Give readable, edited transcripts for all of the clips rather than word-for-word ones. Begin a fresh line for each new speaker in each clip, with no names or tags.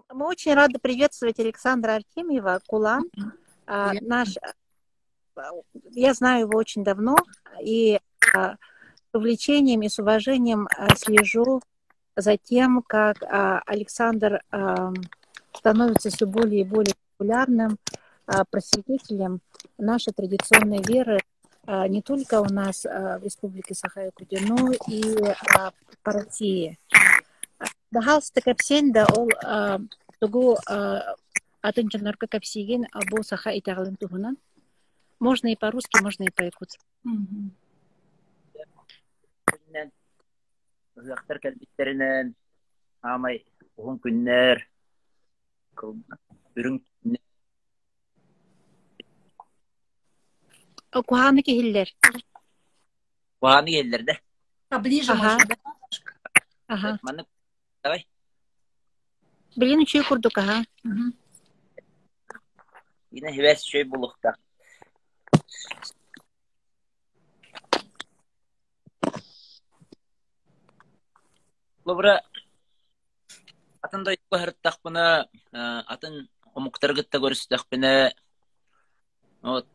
Мы очень рады приветствовать Александра Артемьева, Кулан. Я знаю его очень давно и с увлечением и с уважением слежу за тем, как Александр становится все более и более популярным просветителем нашей традиционной веры не только у нас в Республике Саха-Якутия, но и по России. Дахалсты кәпсен да ол тугу атын жанарка кәпсеген бу Саха итәгълен туһунан. Можно и по-русски, можно и по-якутски.
Uzaqtar kəlbitlərindən amay uğun günlər ürün
Куханы киһиллер.
Ваны елләрдә.
Поближе, может, да?
Ага.
Давай.
Блин, учи курдук, ага.
Yine heves şey bulukta. Lobra атын да юкка хырттак бына, атын омуктаргытта көрүстак бына. Вот.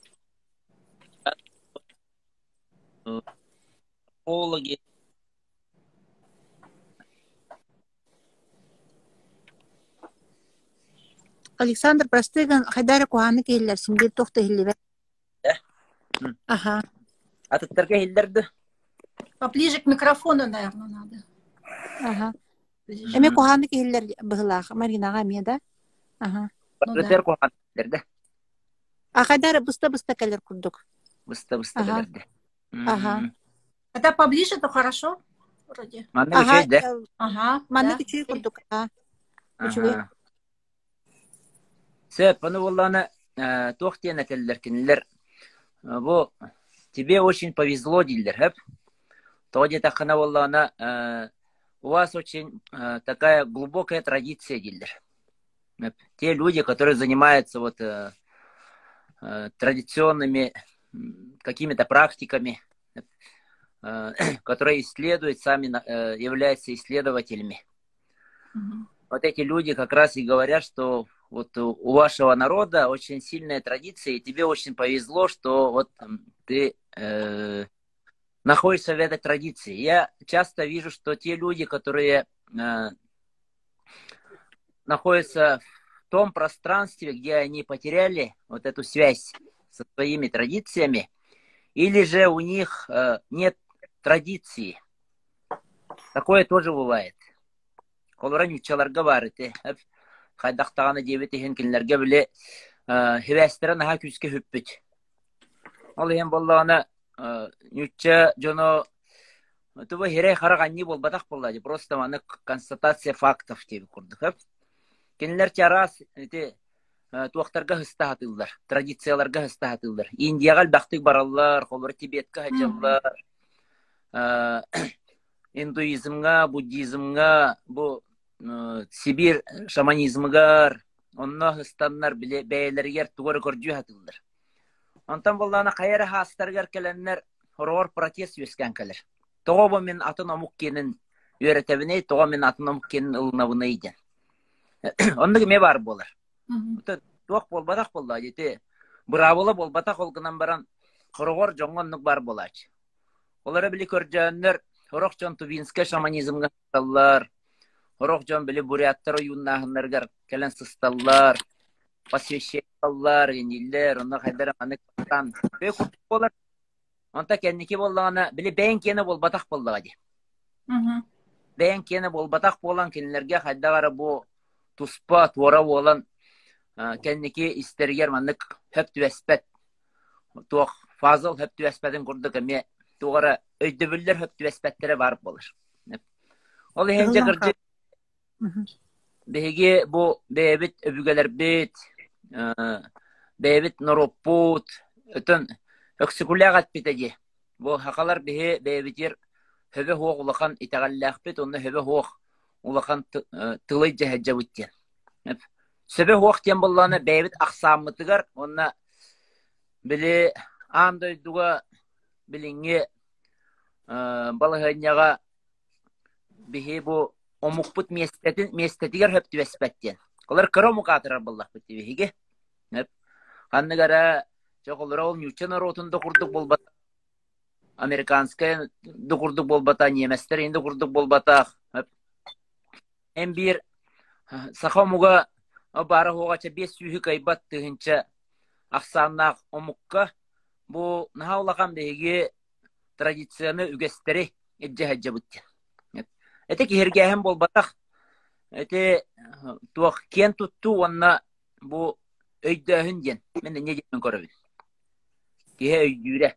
Пологи.
Александр, простыган хайдары куханы киһиллер, синдир тохта хиллибе. Ага.
Аттарга хилдерди.
Поближе к микрофону, наверное, надо.
Ага. Эме куханы киһиллер быһылаах, Маринага мне, да? Ага.
Бартер кухан хилдерди.
Хайдары быста калер курдук.
Быста хилдерди.
Ага.
Когда поближе, то хорошо, вроде.
Манны учей, да?
Ага.
Манны учей курдук, ага. Учуй.
Сэп, ну воллана тохтена келлер. Бу тебе очень повезло, дилер, хэп. Тоди такана воллана у вас очень такая глубокая традиция, дилер. Те люди, которые занимаются вот традиционными какими-то практиками, которые исследуют, сами являются исследователями. Вот эти люди как раз и говорят, что вот у вашего народа очень сильная традиция, и тебе очень повезло, что вот ты находишься в этой традиции. Я часто вижу, что те люди, которые находятся в том пространстве, где они потеряли вот эту связь со своими традициями, или же у них нет традиции. Такое тоже бывает. Колоран учаларга бар ите. Хайдактаганы дебетихин кинлерге биле хевестерен ха күскө хүппүт. Ал эм боллагана нючча жоно туба хере хараганни болбатак боллади. Просто маны констатация фактов деп курдук. Кинлер чарас ите туактарга хыстатылдар, традицияларга хыстатылдар. Индияга бактык бараллар, колор Тибетке хаҗаллар. Индуизмга, буддизмга, бу Сибир шаманизмгар, онна хыстаннар бәйләргә тугры көрҗү хатылдар. Антан буллана кайра хастаргар келәннәр хорор протест юскән келер. Тогы мен атын амук кенен өйрәтәбене, тогы мен атын амук кенен ылнабыны иде. Онны ме бар булар. Туак болбадак булла дите. Браволы болбатак олгынан баран хорор жоңгонлык бар булач. Олары биле көрҗәннәр хорок жон тубинскә шаманизмга таллар. Хорок жон биле буряттар юннахнаргар келен сысталлар. Посвящаллар, индиллер, онна хайдар аны кан. Бек болар. Онта кенники боллагана биле бәнкене болбатак буллага ди. Бәнкене болбатак болган кинләргә хайдагара бу туспа туара болан кенники истергер маннык хөп түәспәт. Туак фазыл хөп түәспәден курдык эме тугара өйдөбүлләр хөп түәспәттәре барып булыр. Ол хенҗе гырҗы беге бу бебит өбүгәләр бит бебит норопут өтен өксүгүләгәт битеге. Бу хакалар беге бебитер хөбе хугулакан итәгәлләх бит, онны хөбе хуг улакан тылы җәһәҗә биттен. Сөбе хуг тем булланы бебит аксаммытыгар, онна биле андай дуга билинге балыгыняга беге бу омукпут местетигер хөптү беспеттен. Олар кыромукатырар боллах биттибиге. Ханныгара жоголора ол нючен ротунда курдук болбат. Американская докурдук болбата, неместер инде курдук болбата. Эм бир сахамуга бары хогача 500 кайбат тыгынча аксаннак омукка бу нахаулаган беги традицияны үгестери эджэ бутты. Эте киргәһем болбатак. Эте туак кен тутту онна бу өйдөһүн ден. Мен не дип көрөбүз. Кие өйдүрө.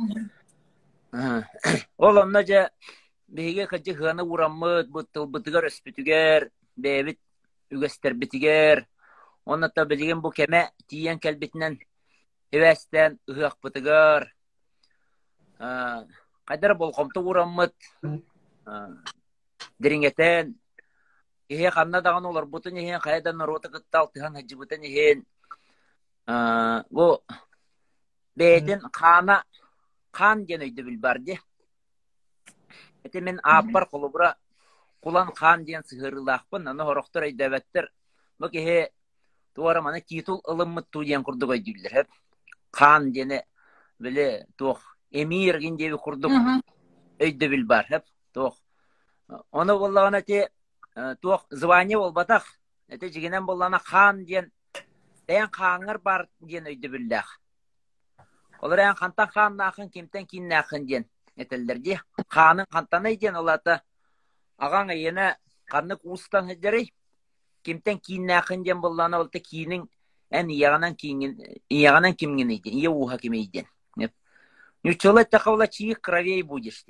Ол онна же беге кыжы ханы ураммыт бутыгар өспүтүгер, бебит үгестер битигер. Онна та билген бу кеме тиен келбитинен эвестен ыгак бутыгар. Кайдар болкомту ураммыт. Дирингетен ihe kanna dağın olur butun ihe kaydan rota gıttal tihan hacı butun ihe bu beyden kan genöyde bilbardı. Ete men apar kolubra kulan kan diyen sığırılaqpın ana horoktor aydavettir. Bak ihe tuara mana titul ılımmıt tu diyen kurduk aydüller hep. Kan diyene böyle tuğ emir gendevi kurduk ayda bilbar hep tuğ. Onu bollağına te tuğ звание olbatak. Ete jigenen bollağına kan diyen en kanır bar diyen ayda billah. Olar en kantan kan nakın kimten kin nakın diyen etellerdi. Kanın kantanay diyen olata ağan ayına kanlık ustan heceri kimten kin nakın diyen bollağına olta kinin en iyağanan kimgin eydi. İyi uha kim eydi. Nüçolet takavla çiğik kravey budişti.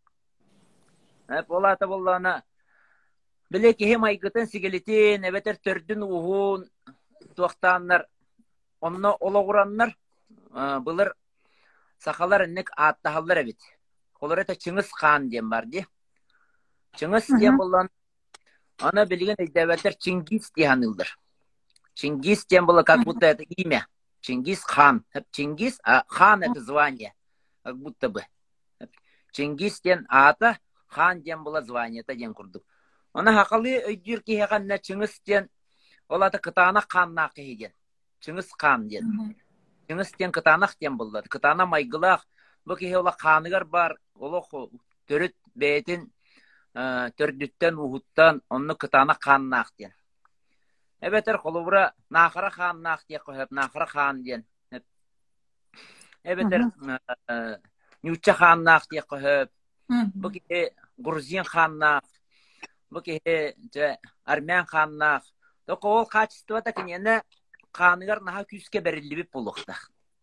Olata bollağına bileki hem aygıtın sigilitin eveter tördün uhun tuaktanlar onunla olağuranlar bulur sakalar ennek attahallar evet. Olar eta Çıngiz Khan diyen vardı. Çıngiz diyen bollağına ana bilgen eveter Çingiz diyen yıldır. Çingiz diyen bolla как будто это имя. Çingiz Khan. Hep Çingiz, Khan это звание. Как будто бы. Çingiz diyen ata Khan diyen bolla звание это diyen kurduk. Ona hakalı öydür ki hekanna Çıngiz diyen ola da kıtana Khanna diyen. Çıngiz Khan diyen. Çıngiz diyen kıtana diyen bolla. Kıtana maygılaq. Bu ki ola Khanıgar bar. Ola törüt beytin tördütten uhuttan onu kıtana Khanna diyen. Ebeter kolubra Nahara Khan nak diye koyup Nahara Khan diyen. Ebeter Nüçe Khan nak diye koyup. Bu ki Gruzin Khan nak. Bu ki Armen Khan nak. Doko ol kaçıstı da ki ne Khanıgar naha küske berilli bir bulukta.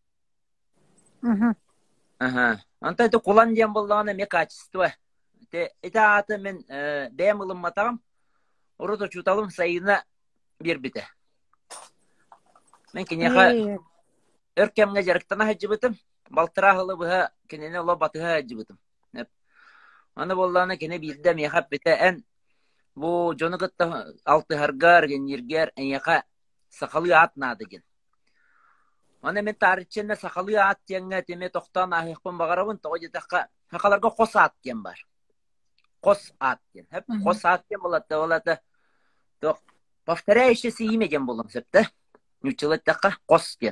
Anta da kulan diyen bollağına me kaçıstı. Ete atı men beyem ılınmatağım. Orada çutalım sayına bir bite. Men kinyaha örkemge jarıktana hacıbıtım. Baltırahalı buha kinene ola batıha hacıbıtım. Ana bollağına kine bilde meyhap bite en bu jonu gıtta altı hargar genirger en yaka sakalı at nadı gen. Ana men tarihçende sakalı at diyenge teme tohtan ahıqpın bağarabın toğucu takka hakalarga kos at diyen var. Kos at diyen. Hep kos at diyen bolata. Повторяющееся имя дем болом септе. Нючилет така костен.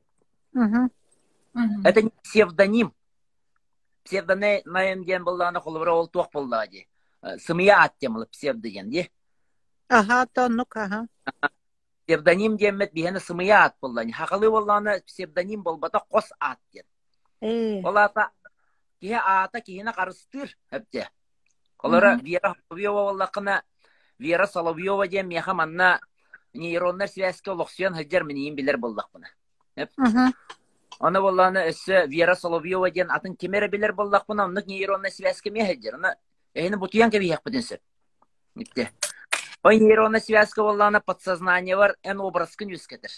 Это не псевдоним. Псевдоним дем боллана холбра ол туак боллади. Сымия ат демлы псевдоген ди.
Ага, то ну-ка.
Псевдоним демет бихене сымия ат боллани. Хакалы боллана псевдоним болбата кос ат ден. Олата кие ата киене карыстыр хепте. Олара Вера Соловьева боллакына Вера Соловьева дем меха манна нейронlar связка лохсуян хаджар менейин билер болдақ бұна. Оны болланы өссі Вера Соловьева ден атын кемері билер болдақ бұна, онық нейронlar связка ме хаджар. Оны әйіні бұтуян кәбі яқ бұдын сөп. Ой нейронlar связка болланы подсознание бар, ән образкын өскетір.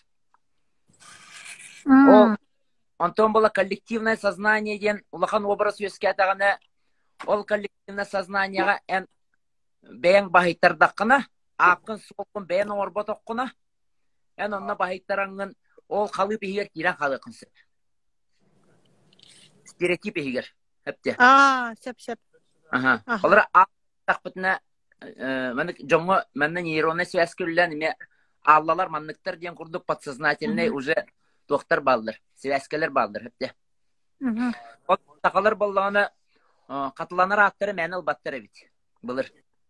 Онтон бола коллективное сознание ден улахан образ өскетағаны, ол коллективное сознаниеға ән бәйін бахиттардаққына, ақын соқын бәйін орботоққына, ән онына бахиттараңын ол қалы бейгер кирен қалы қынсы. Стереотип бейгер. Әпте.
Сеп.
Олар ақ бұтына Маннык жоңго манна нейронная связь көллән ме аллалар манныктар дигән курдук подсознательный уже доктор балдыр, связькалар балдыр хәтта. Ол такалар боллагына катыланар аттары мәне албаттыр бит. Булыр.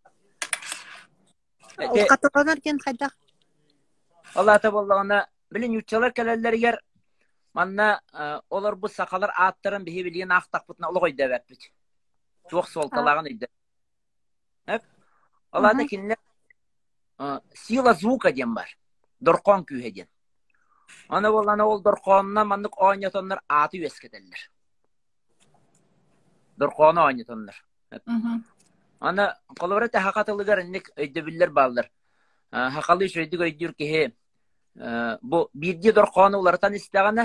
Ол катыланар ген кайда?
Аллата боллагына билин ючалар келелләргә манна олар бу сакалар аттарын бихи билген актак бутна олы койда бит. Жок солталагын иде. Хәп. Аллата кинләр сила звука дем бар. Доркон күйеден. Аны боллана ол дорконна мандык ойнатоннар аты үескетеллер. Дорконы ойнатоннар. Аны колората хакатылыгар инек өйдөбүллер балдар. Хакалы шөйдүк өйдүр ки бу бирди дорконы улардан истегәне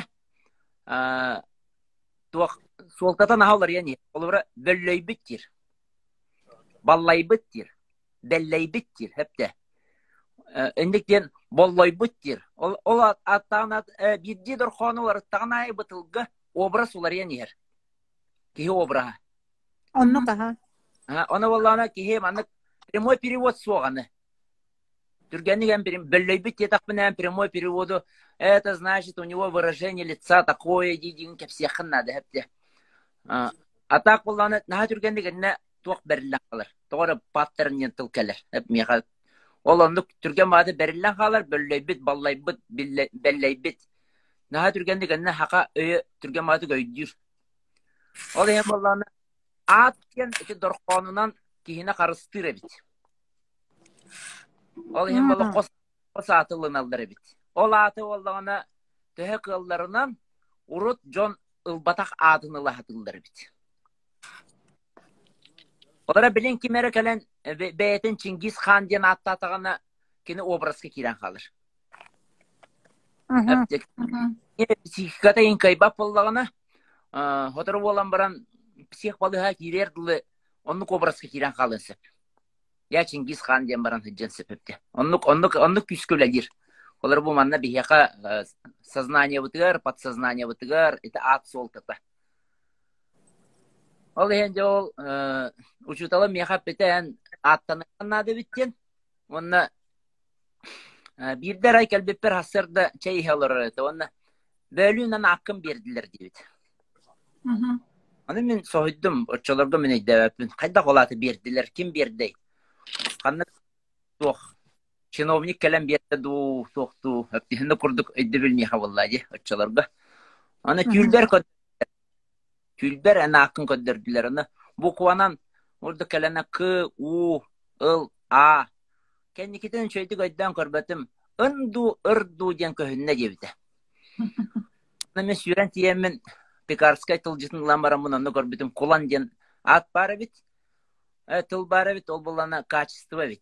туак солтатан алар яни. Колора бөллөй биттир. Баллай биттир. Беллей биттир хепте. Эндиктен боллой биттир. Ол аттагына бирди дорконы улар тагына бытылга образ улар яни. Ки образ.
Онно каха.
Она валлана кихе маннык прямой перевод соганы. Түргенниген бөллөйбит етак менен прямой переводу. Это значит, у него выражение лица такое, дидин кепсехын надо хепте. А так валлана на түргенниген туак берилен калар. Тогора паттернен тылкалар. Хеп мега. Ол ондук түрген бады берилен калар, бөллөйбит, баллайбит, беллейбит. На түргенниген хака өй түрген бады көйдүр. Ол hem валлана Аткен эти дорконунан кихине карыстыр бит. Ол hem бала кос атылын алдар бит. Ол аты боллагына төһө кылларынан урут жон ылбатак атыны лахатылдар бит. Олар билен кимере келен бейтин Чингис хан ден аттатагына кини образга кирен калыр. Психиката инкайба боллагына хотор болан баран псих балыга кирердиле оннук образга кирен калынсып. Я Чингис хан ден баран хыджан сепепте. Оннук күскөләдир. Олар бу манна бияка сознание бутыгар, подсознание бутыгар, это ат солтата. Ол энде ол учутала меха петен аттанана да биттен. Онна бирдер ай келбеппер хасырда чей хелер это. Онна бөлүнөн акым бердилер дейт. Аны мен сойдум, очолорго мен айдабын. Кайда калаты бердилер, ким берди? Каны тох. Чиновник келем берди ду, тохту. Аптыны курдук айды билмей хаваллади очолорго. Аны Күлбер ана акын көддөрдүлөр. Аны букванан орду келена К, У, Л, А. Кенникитен чөйдүк айдан көрбөтүм. Ынду, ырду ден көһүнне дебите. Аны мен сүрен тиемен Пекарскай тылжытын ламбарам мұнанны көрбітім кулан ден ат бары бит, тыл бары бит, ол болана качество бит.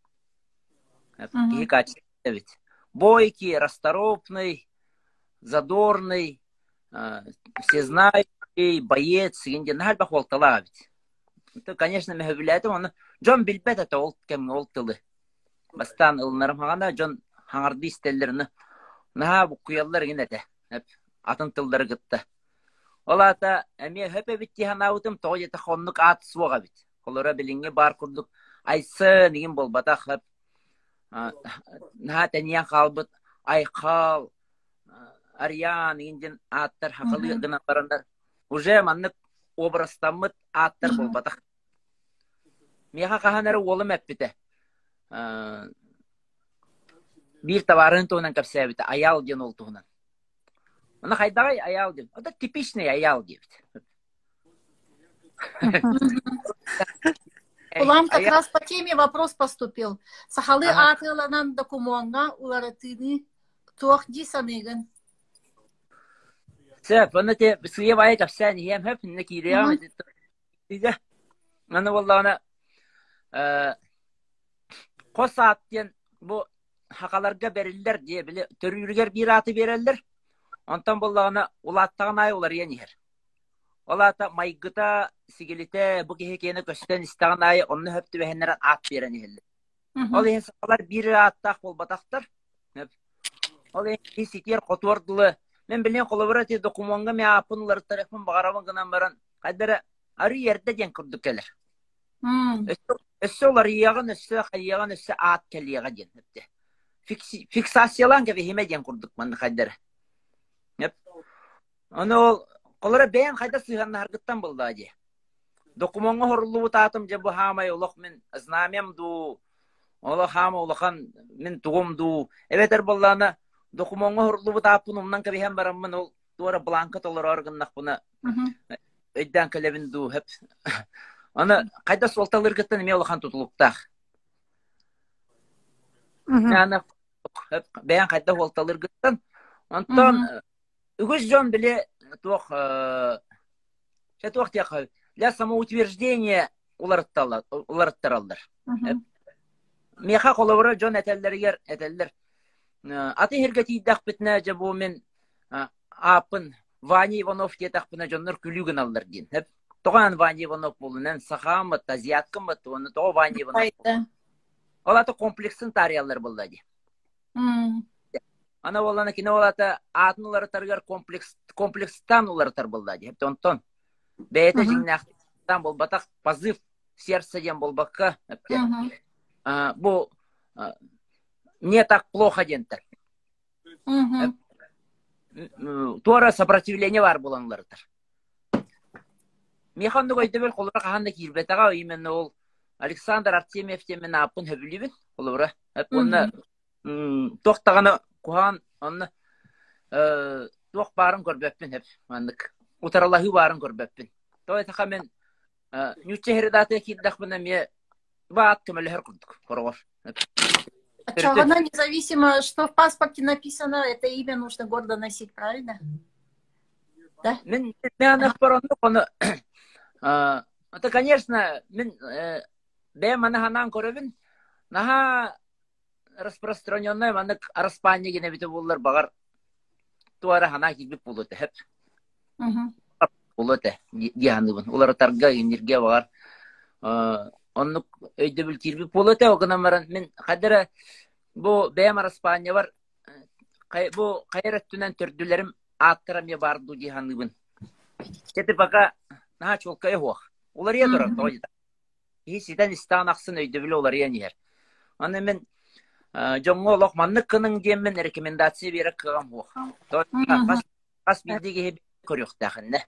Кей качество бит. Бойкий, расторопный, задорный, всезнающий, боец, генде нахальба холтала бит. Это, конечно, мен хөбіләдім, оны Джон билбет это ол кем ол тылы. Бастан ылынарым хағанда Джон хаңарды истеллеріні наға бұ құялар ген әті. Атын тылдары гытты. Олата эме хөпе битти ханаутым тоҗета хоннук ат суга бит. Колора билинге бар курдук айсы нигин болбата хап. На тания халбыт айкал арьян нигин аттар хакылы гына барандар. Уже маннык образтамыт аттар болбата. Меха каханары олым эппите. Бир товарын тонан капсабыта аял ден ол тугунан. Она хайдагай аял деп. Это типичный аял деп.
Улам как раз по теме вопрос поступил. Сахалы атыланан докумонга уларатыны туахди саныгын.
Сэп, она те сыевай капсан ем хэп накиреам. Дига. Аны валлана косаттен бу хакаларга берилдер диye биле төрүргөр бир аты берелдер. Онтан боллагына улаттаган ай улар янер. Олата майгыта сигелите бу кехекени көстөн истаган ай онны хөптү бехеннер ат берен эле. Ол алар бир аттак болбатактар. Ол ситер котордулы. Мен билен колоборати документга ме апынлар тарихын багарабын гынан баран. Кайдара ары ерде ден курдук келер. Өссө олар иягын өссө хайягын өссө ат келияга ден. Фиксациялан кебе химе ден курдук манны хайдары. Оны ол колора бәйән хайда сыйганны харгыттан булды ади. Документга хорулуу татым же бу хамай улак мен знамем ду. Ола хама улахан мен тугум ду. Эветер булланы документга хорулуу татым умнан кебе хем бараммын ол туара бланка толор органнак буна. Өйдән келебин ду хеп. Аны кайда солталыр гыттан ме улахан тутулуктак. Аны бәйән кайда солталыр гыттан. Антон үгүз жон биле тох тох тяха для самоутверждения уларттаралдар. Меха коловра жон этеллер аты херге тидак битне жабу мен апын Ваня Иванов детак бина жоннор күлүгүн алдар дин. Хеп тоган Ваня Иванов болунан сахамы тазияткымы тоны то Ваня Иванов. Олаты комплексын тариялар булды ди. Ана оланы кине олаты атнылары таргар комплекстан улар булды ди. Хеп онтон бәйте жиннактан болбатак позыв сердца ден болбакка. Бу не так плохо дентер. Туара сопротивление бар буланлардар. Механды койдыбел колора каханда кирбетага именно ол Александр Артемьев темен апын хөбүлүбүн колора. Онна токтаганы кухан онна ток барын көрбөппүн хеп. Мандык утаралахы барын көрбөппүн. Той така мен нючехердате киддак бана ме баат кемелер курдук коргор.
Чагана независимо, что в паспорте написано, это имя нужно гордо носить, правильно? Да?
Мен это, конечно, бэмана ханан көрөбүн, наха распространенная манык распанья гене бите буллар багар туара хана кибип булуты хеп. Булуты дианыбын. Улар тарга энергия бар. Оннук өйдө бил кирбип булуты огнамаран мен кадыра бу бэм распанья бар. Бу кайраттынан төрдүлөрүм аттыра ме барду дианыбын. Кете пока наха чолкай хуак. Улар я дурак тоyda. Ситен станаксын өйдө бил улар я нер. Аны мен жоңго локманны кының демен рекомендация берек кылган бу. Бас билдиге көрөк тахынны.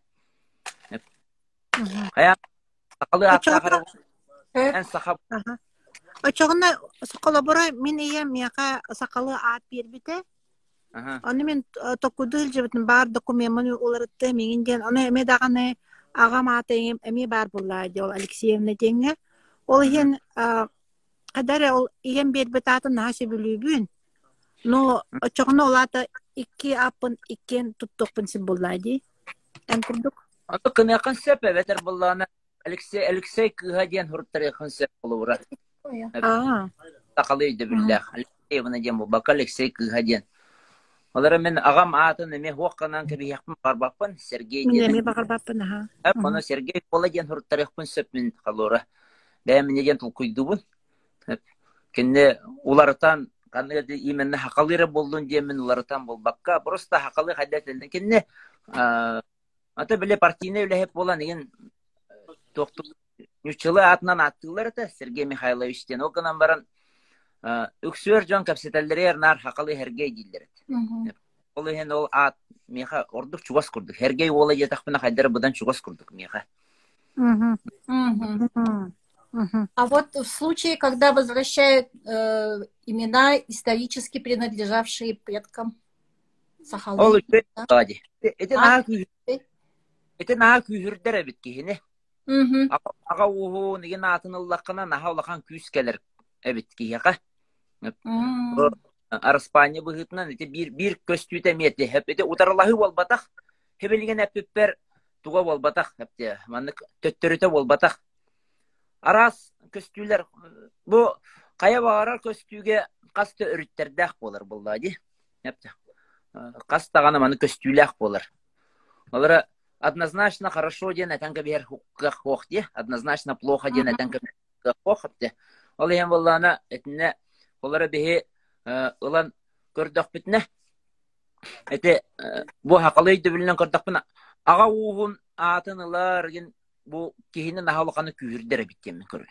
Кая сакалы аттагы эн сахап.
Очогуна коллабора мен эем яка сакалы ат бербите. Аны мен токудул жебитин бар документин уларытты меңинден аны эме даганы агам аты эме бар буллады ол Алексеевна деңе. Ол ен кадар ол эем бербит атын нашы билүүбүн. Но очогуна олата 2 апын 2 туттукпун син буллады. Эн курдук.
Аты кынакын сеп эветер булланы Алексей Кыгаден хурттар якын сеп болура. Такалы иде биллах. Алексеевна дем бу бак Алексей Кыгаден. Олар мен агам атын эме хуакканан кеби якын барбаппын Сергей ден.
Эме барбаппын ха.
Аны Сергей Коладен хурттар якын сеп мен калора. Бәм неден тулкуйдубун. Кенне улардан кандай именно хакалыры болдун демен улардан болбакка просто хакалы хаддетелден кенне ата биле партийный үлеп болан деген токту нүчеле атынан аттылар да Сергей Михайловичтен окынан баран үксөр жон капситалдер нар хакалы хергей дилдер. Ол ген ол ат меха ордук чугас курдук. Хергей ола жетакпына хайдар будан чугас курдук меха.
А вот в случае, когда возвращают имена, исторически принадлежавшие предкам Сахалы.
Это на күйірдер бит кихине. Ага уху неген атын Аллахына наха Аллахан күйіс келер бит кихиға. Арыспания бұғытынан бір көстүйті меті. Эте утарлахы болбатақ. Хебелеген әппеппер туға болбатақ. Маннык төттөріті болбатақ. Арас көстүйлер бу кая багарар көстүүгө касты өрүттердак болор булды. Кастаганы маны көстүйлак болор. Олар однозначно хорошо ден атанга бер хукк ди, однозначно плохо ден атанга хукк ди. Ол эм буллана этне олар бе улан көрдөк битне. Эте бу хакылы дибилен көрдөк бина. Ага угун атынылар ген bu kihinin nahalıqanı kühürdere bitken körün.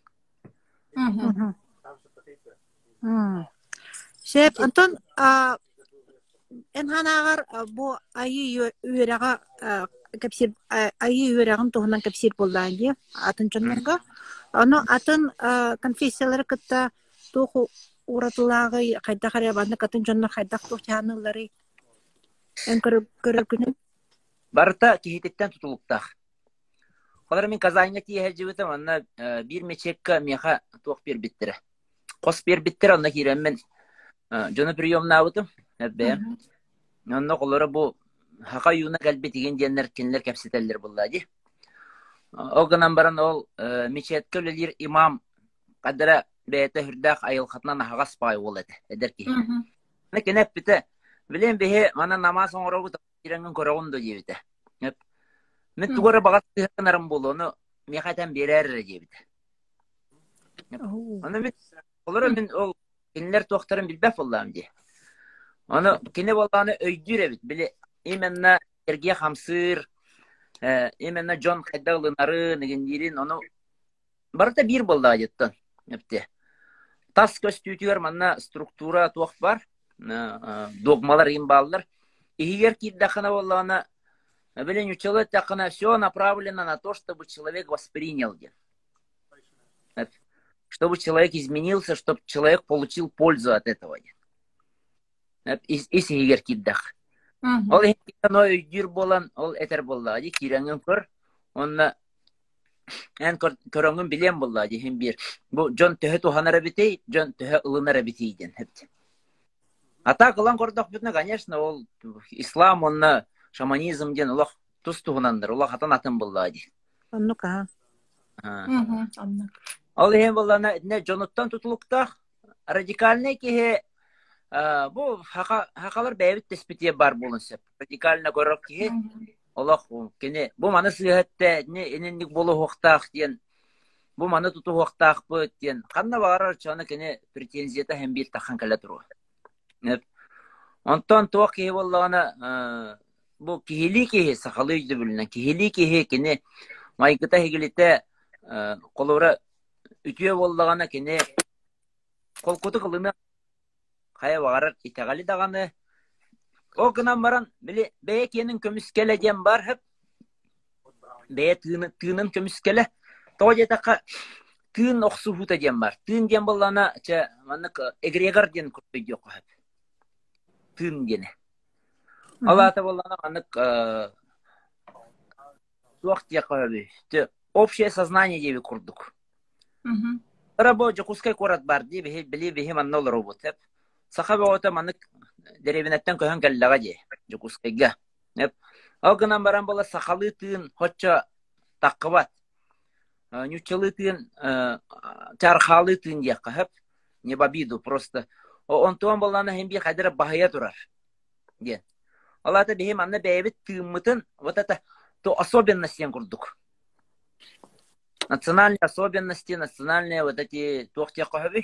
Şef, Anton, en hanağar bu ayı üyerağa kapsir ayı üyerağın tohunan kapsir bollan diye atın çonlarga. Onu atın konfessiyaları kıtta tohu uğratılağı kayda karyabandı katın çonlar kayda tohçanıları en körür günü.
Barıta kihitetten tutuluktaq. Olar min kazayna tiye herjivitim anna bir meçekka meha toq bir bittire. Qos bir bittire anna kirem men jonu priyomna butum. Hebbe. Anna qolara bu haqa yuna galbi tigen diyenler kinler kapsiteller bullaji. O gınan baran ol meçetka ölelir imam qadara beyte hürdaq ayıl qatnan haqas pay oladı. Eder ki. Ne kenep bite. Bilen behe mana namaz oğra bu tirengen koragun do jebite. Hep. Men tugara bagat tığınarım bolu onu mekatan berer jebite. Onu men olara men ol kinler toqtarın bilbef Allah'ım diye. Onu kine bolany öydüre bit. Bile imenna erge hamsır imenna John Kaydalınarı negendirin onu barata bir bolda ajettın. Hepti. Tas köstütüyor manna struktura toq var. Dogmalar imballar. Егер киддахана боллана Блин, у человека все направлено на то, чтобы человек воспринял. Чтобы человек изменился, чтобы человек получил пользу от этого. Иси егер киддах. Ол хикано үйдүр болан, ол этер боллади, киреңин көр. Онна эн көрөңүн билен боллади, хем бир. Бу жон төһө туханара битей, жон төһө ылынара битей ден хепти. А так ылан кордох бүтүнө, конечно, ол ислам, онна шаманизм ден улах тустугунандыр, улах атан атын боллади.
Аннука.
Ол хем боллана не жоноттан тутулуктах радикальный кихе bu hakalar beyvit tespitiye бар болынсы. Радикально көрөк кихе улах кене бу маны сыйхатте не эненник болу хоктах ден. Бу маны туту хоктах бу ден. Канна барар чаны кене претензията хем бир тахан кала туру. Онтон туак кихе боллана bu kihili kihi sakalıydı bilinen kihili kihi kini maykıta hegilite kolora ütüye bollagana kini kolkutu kılını kaya varar itegali dağını o gınan baran bile beyekenin kömüskele diyen var hep beye tığının kömüskele toğca taka tığın oksu huta diyen var tığın diyen bollagana manık egregar diyen kurtuydu yok hep tığın diyene Allah Teala'nın anık vakti yakaladı. Общее сознание diye bir kurduk. Рабочий кускай корат бар diye bili bihim annol robot hep. Sahabe ota manık derevinetten koyan gallaga diye. Kuskayga. Hep. Algınan baran bola sakalı tığın hoçça takıvat. Nüçalı tığın çarhalı tığın diye hep. Ne babidu просто. O ontuan bolana hem bir kadere bahaya durar. Diye. Allah da bihim anne beyvit tığımıtın вот это то особенности курдук. Национальные особенности, национальные вот эти тохти кахви.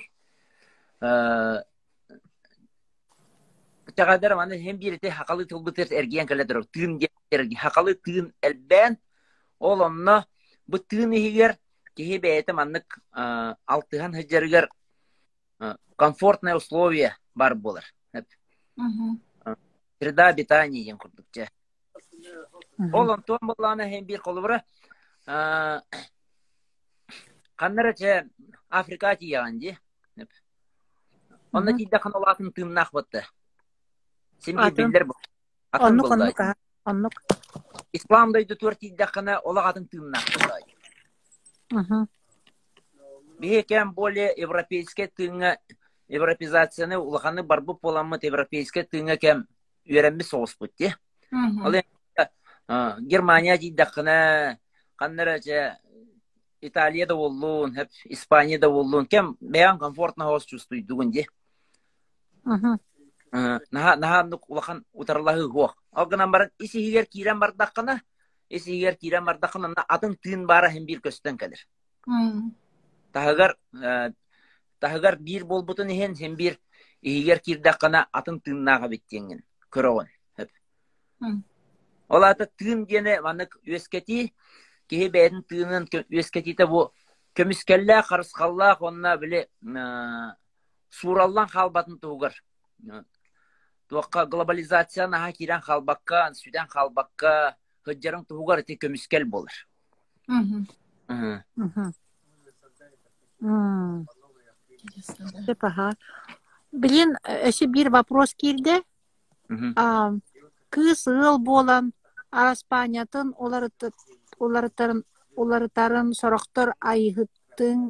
Тагадыр маны hem birite hakalı tılbıtır ergen kaladır. Tığın ergi hakalı tığın elben olanna bu tığın higer ki beyte manlık altıhan hıcırgır комфортные условия бар болар. Среда обитания ен курдукча. Олон том боллана hem bir kolubra kanlara Afrika tiyanji. Onna tidda kanalatın tımnak battı. Sen bildir bu.
Onluk.
İslam'daydı tör tidda kana olağatın tımnak battı. Бихекем более европейский тыңа европезацияны улаханы барбы поламыт европейский тыңа кем үйренби соғыс бұтте. Ал Германия дейдақына, қаннара Италияда болуын, Испанияда болуын, кем бәян комфортно хоз чувствует дугунде. Наха улахан утарлағы гоқ. Ал гынан баран, isi егер кирен бардақына, атын тыын бара hem bir көстен кәдір. Тағығар bir болбутын hem bir егер кирдақына атын тыыннаға беттенген. Көріғын. Ол аты тыын дені манық өскети, кеһи бэйдин тыынын үескетите бу көмүскеллää харыскаллаах онна биле сураллан халбатын тугар. Туакка глобализация наха кирен халбакка, сүден халбакка хыджарын тугар те көмүскел болар.
Блин, еще bir вопрос килде. Кыз ыл болан араспанятын оларытарын сорохтор айыгытын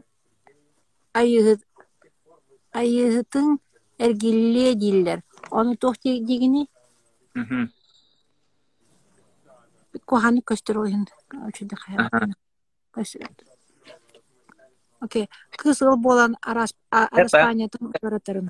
эргилле диллер. Onu tohti digini. Kohani köster oyun. Ölçüde hayatını. Okey. Kız ıl bolan aраспанятын оларытарын.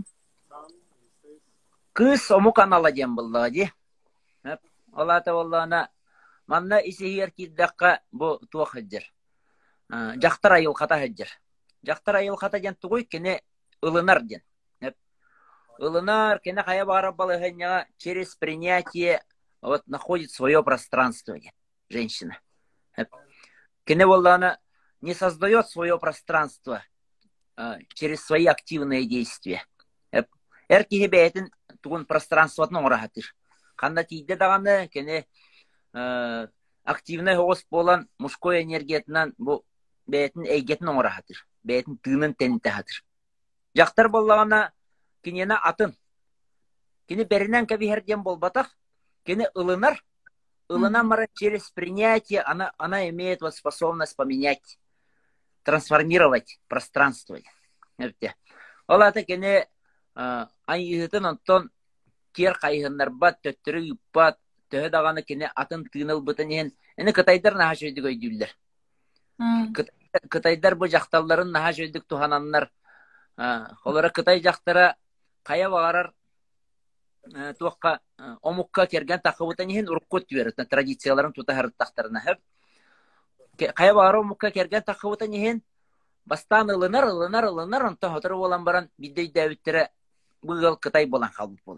Кыз омукан аладен буллади. Олата боллана манна исихер киддакка бу туахыджыр. Жактар айыл ката хыджыр. Жактар айыл ката ден тугуй кене ылынар ден. Ылынар кене хая бара балыгыня через принятие вот находит свое пространство женщина. Кене боллана не создает свое пространство через свои активные действия. Эркиге бейтин тугун пространствотун орахатыр. Канда тийде даганы кене активный хоос болан мужской энергиятынан бу бейтин эйгетин орахатыр. Бейтин тыынын тенитахатыр. Жактар боллагана кинена атын. Кини беринен кабихерден болбатах, кини ылынар. Ылынан мара через принятие она имеет вот способность поменять, трансформировать пространство. Олата кини айыгытын онтон тер кайыгыннар бат, төттөрү юппат, төһө даганы кини атын тыыныл бытын ен. Эни кытайдар наха жөйдүк өйдүллер. Кытайдар бу жакталларын наха жөйдүк тухананнар. Олара Кытай жактара кая багарар туакка омукка керген такыбытын ен уруккут берет традицияларын тутахарыттактарына хеп. Кая багар омукка керген такыбытын ен бастан ылынар онто хотор болан баран бидей дэвиттере быгыл Кытай болан халбыт болар.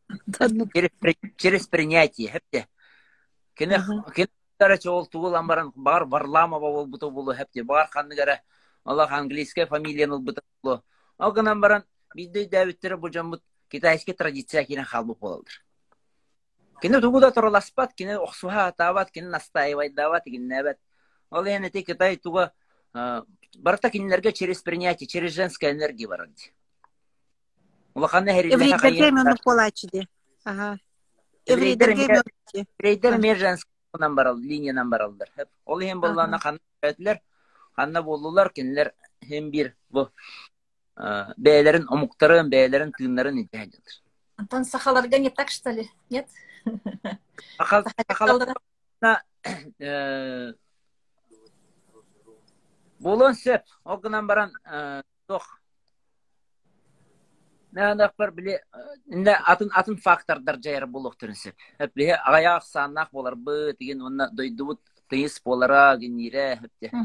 Через принятие хепте. Кене тара чол тугулан баран бар Варламова болбуту болу хепте. Бар ханныгара Аллах английская фамилияны болбуту болу. Алганан баран бидей дэвиттере бу жамбут китайский традиция кирен халбыт болалдыр. Кене тугуда тороласпат, кене оксуха атабат, кене настаивать дават, кене небет. Ол яны те Китай туга барта кинилерге через принятие, через женская энергия барады.
Еврейдерге мені қолачыды.
Еврейдер мен женскынан барал, линиядан баралдар. Ол ем боллана қанна өтілер, қанна болулар, кенілер hem bir bu бәйлерін, омуктарын, бәйлерін, тыынларын интihadılır.
Антон, сахаларга не так, что ли? Нет?
Сахаларга болон сөп, оғынан баран тоқ. Нәңдақ бір біле, атын фактордар жайыр болуқ түрін сөп. Біле аяқ саннақ болар бұ, деген онына дойдуыт тыйыс болара, генере,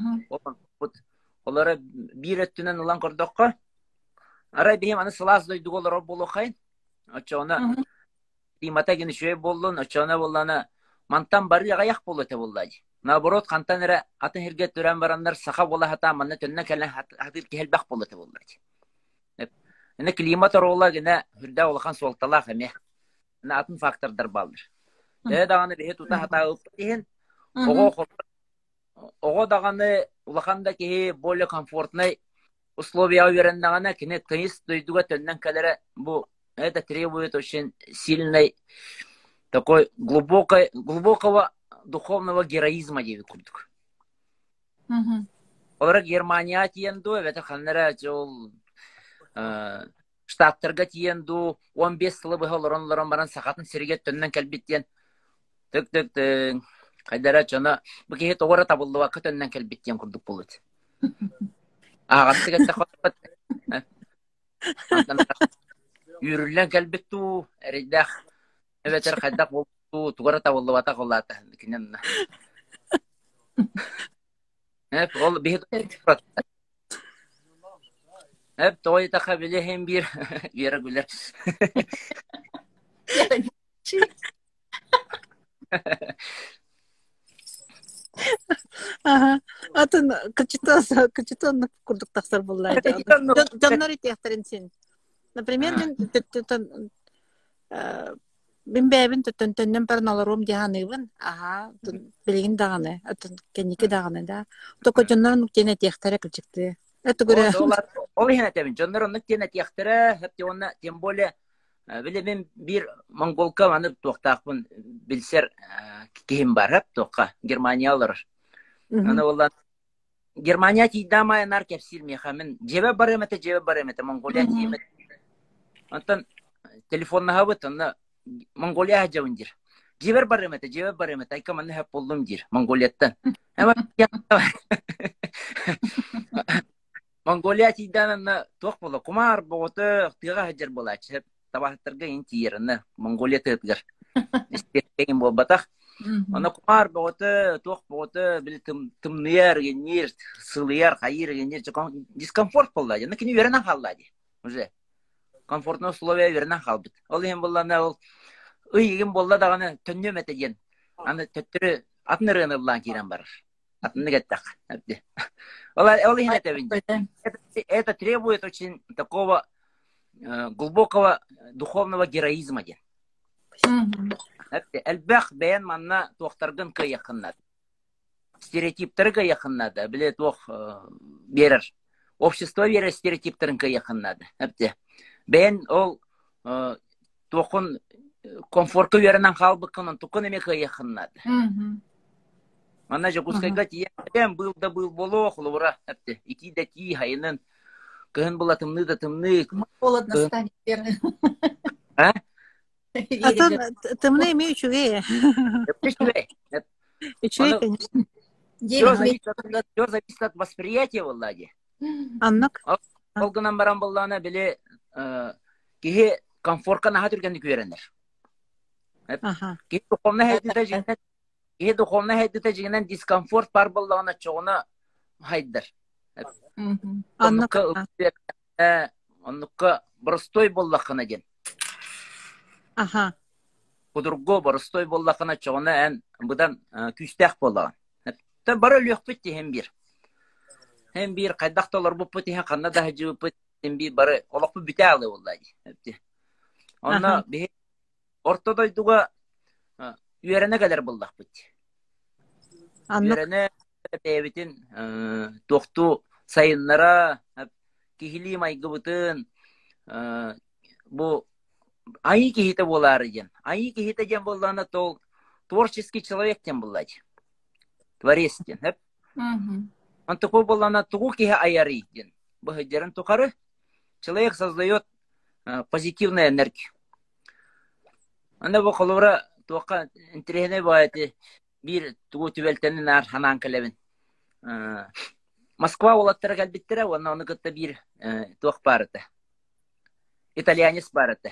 олары бір өттінен ұлан көрдіққа. Арай бейім аны сылас дойдуғы олар болу қайын. Оча оны климата гені шөй болуын, оча оны болуына мантан бары аяқ болу өте болды. Наоборот, қантан әрі атын херге түрен барандар сақа бола хата манна төннен кәлін хатыр кәлбәқ болу өте болды. Әне климат орола гені хүрді олақан солталақ әме. Әне атын фактордар балдыр. Дағаны бейі тута хата ұлпы дейін, оғы дағаны улақанда кейі более комфортный условия уверендағаны кені тыйыс дойдуға төннен кәлері бұл это требует очень сильной такой глубокого духовного героизма дейбі күрдік. Олар Германия тиенду, әбәті қаннара жол штаттарға тиенду, 15 сылы бұға лорон баран сақатын сірге төннен кәлбеттен түк-түк-түк қайдара жона бұкеге тоғыра табылды вақы төннен кәлбеттен күрдік болуды. Ағатты кәтті қотпат. Үйрілен кәлбетту, әрейдақ, әбәтер қайдақ болду, туғыра табылды вата қолаты. Әп, ол бейді құрат. Әп, тоғай тақа біле хем бір бері гүлер.
Атын кычытон курдук тахсар буллайды. Жоннор итехтерин сен. Например, мен бәбин төттөннен парналарым дияныгын. Ага, билигин даганы, атын кеники даганы да. Токо жоннор тене техтере кылчыкты. Это говоря.
Ол хена тебин жоннор тене техтере, хеп онна тем более биле мен бир монголка аны токтакпын билсер ким бар хеп токка Германиялар. Аны олар Германия тидамай нар кепсил мехамен жебе бар эмете Монголия тимет. Антан телефонна хабыт аны Монголия жаундир. Жебер бар эмете айкаманы хеп болдум дир Монголияттан. Ама Монголия тиданна ток боло кумар боготы тыга хаҗар болачы. Табахтырга интиерне Монголия тыгыр. Истеген болбатак. Аны кумар боготы ток боготы бил тымныр генер, сылыяр, хайыр генер дискомфорт болду. Аны кини веренен халлады. Уже комфортный условия веренен халбыт. Ол эм боллана ол ыйгин болла даганы төннөм этеген. Аны төттүрү атнырыны булан кирен бар. Атны геттак. Ол эм этебин. Это требует очень такого глубокого духовного героизма. Әлбәх бәян манна тоқтаргын кы яқыннады. Стереотиптерге яқыннады. Біле тоқ берер. Общество берер стереотиптерін кы яқыннады. Бәян ол тоқын комфорты веренен қалбыққынын тұқын еме кы яқыннады. Манна же кускайға тиен был болу оқылы бұра. Ити да ти хайынын. Кыһын була тымны да тымны.
Холодно станет.
А?
Тымны имею чугея. Чугея, конечно.
Все зависит от восприятия, Влади.
Аннак?
Олгынан баран боллана биле кихе комфортка наха түргенді көренер. Кихе духовна хайдыта жигенен дискомфорт бар боллана чоғына хайдыр. Оннукка боростой боллақына ден. Кудурго боростой боллақына чоғына ән бұдан күстәк боллаған. Бары лөк бітті хем бір. Хем бір қайдақталар бұп бітті, қанна да хәжі бұп бітті, бары олақ бұп біті алы олайды. Онна ортодойдуға үйеріне кәдер боллақ бітті. Үйеріне бәйбітін тоқту сайынлара, кихили майгы бұтын, бұл айы кихиті болары ден. Айы кихиті ден болланы тол творческий человек ден болады. Творец ден. Он такой болланы туғу кихи айары ден. Бұл хеджерін тұқары, человек создает позитивную энергию. Анда бұл қолуыра туаққа интерехіне байды бір туғу түбелтенін ар ханан кәлебін. Москва олаттары кәлбеттері, оны күтті бір туақ барыды. Итальянец барыды.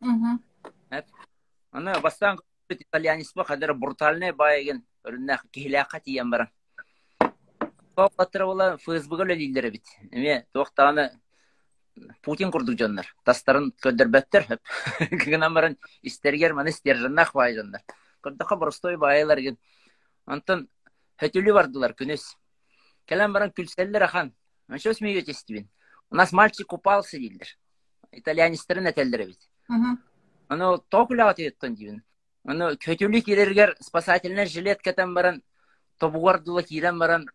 Оны бастан күтті итальянец ба, қадыры брутальный байыген, өріннәқ кейләқа тиен баран. Олаттары ола Facebook-ы өлелілері біт. Туақтағаны Путин күрдік жонлар. Тастарын көддірбәттір. Кігінен баран істергер, мәні істержіннақ бай жонлар. Күрдіққа бұрыстой байылар ген. Антын хөтілі бардылар күнес. Келем баран күлселлер ахан. Он что смеетесь тебе? У нас мальчик купался, дилдер. Итальянистерин этелдер бит. Оно токуля атыйттан дибин. Оно көтүлү кирергер спасательный жилет кетен баран тобугардыла кирен баран.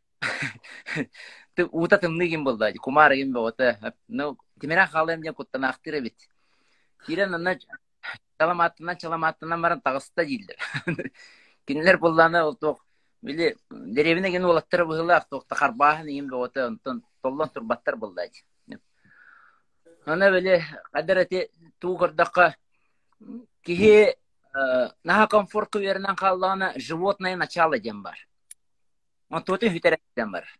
Ты ута тымныгин болду. Кумар ген бота. Ну, тимера халем ден куттанактыр бит. Кирен аны чаламаттан баран тагыста дилдер. Кинелер болланы ол ток Били деревине ген олаттар быгылак токта карбаһын ин боты онтон толлон турбаттар булдайды. Ана беле кадерати тугырдакка кихи наха комфорт вернен каллана животное начало дем бар. Он тоты хитерден бар.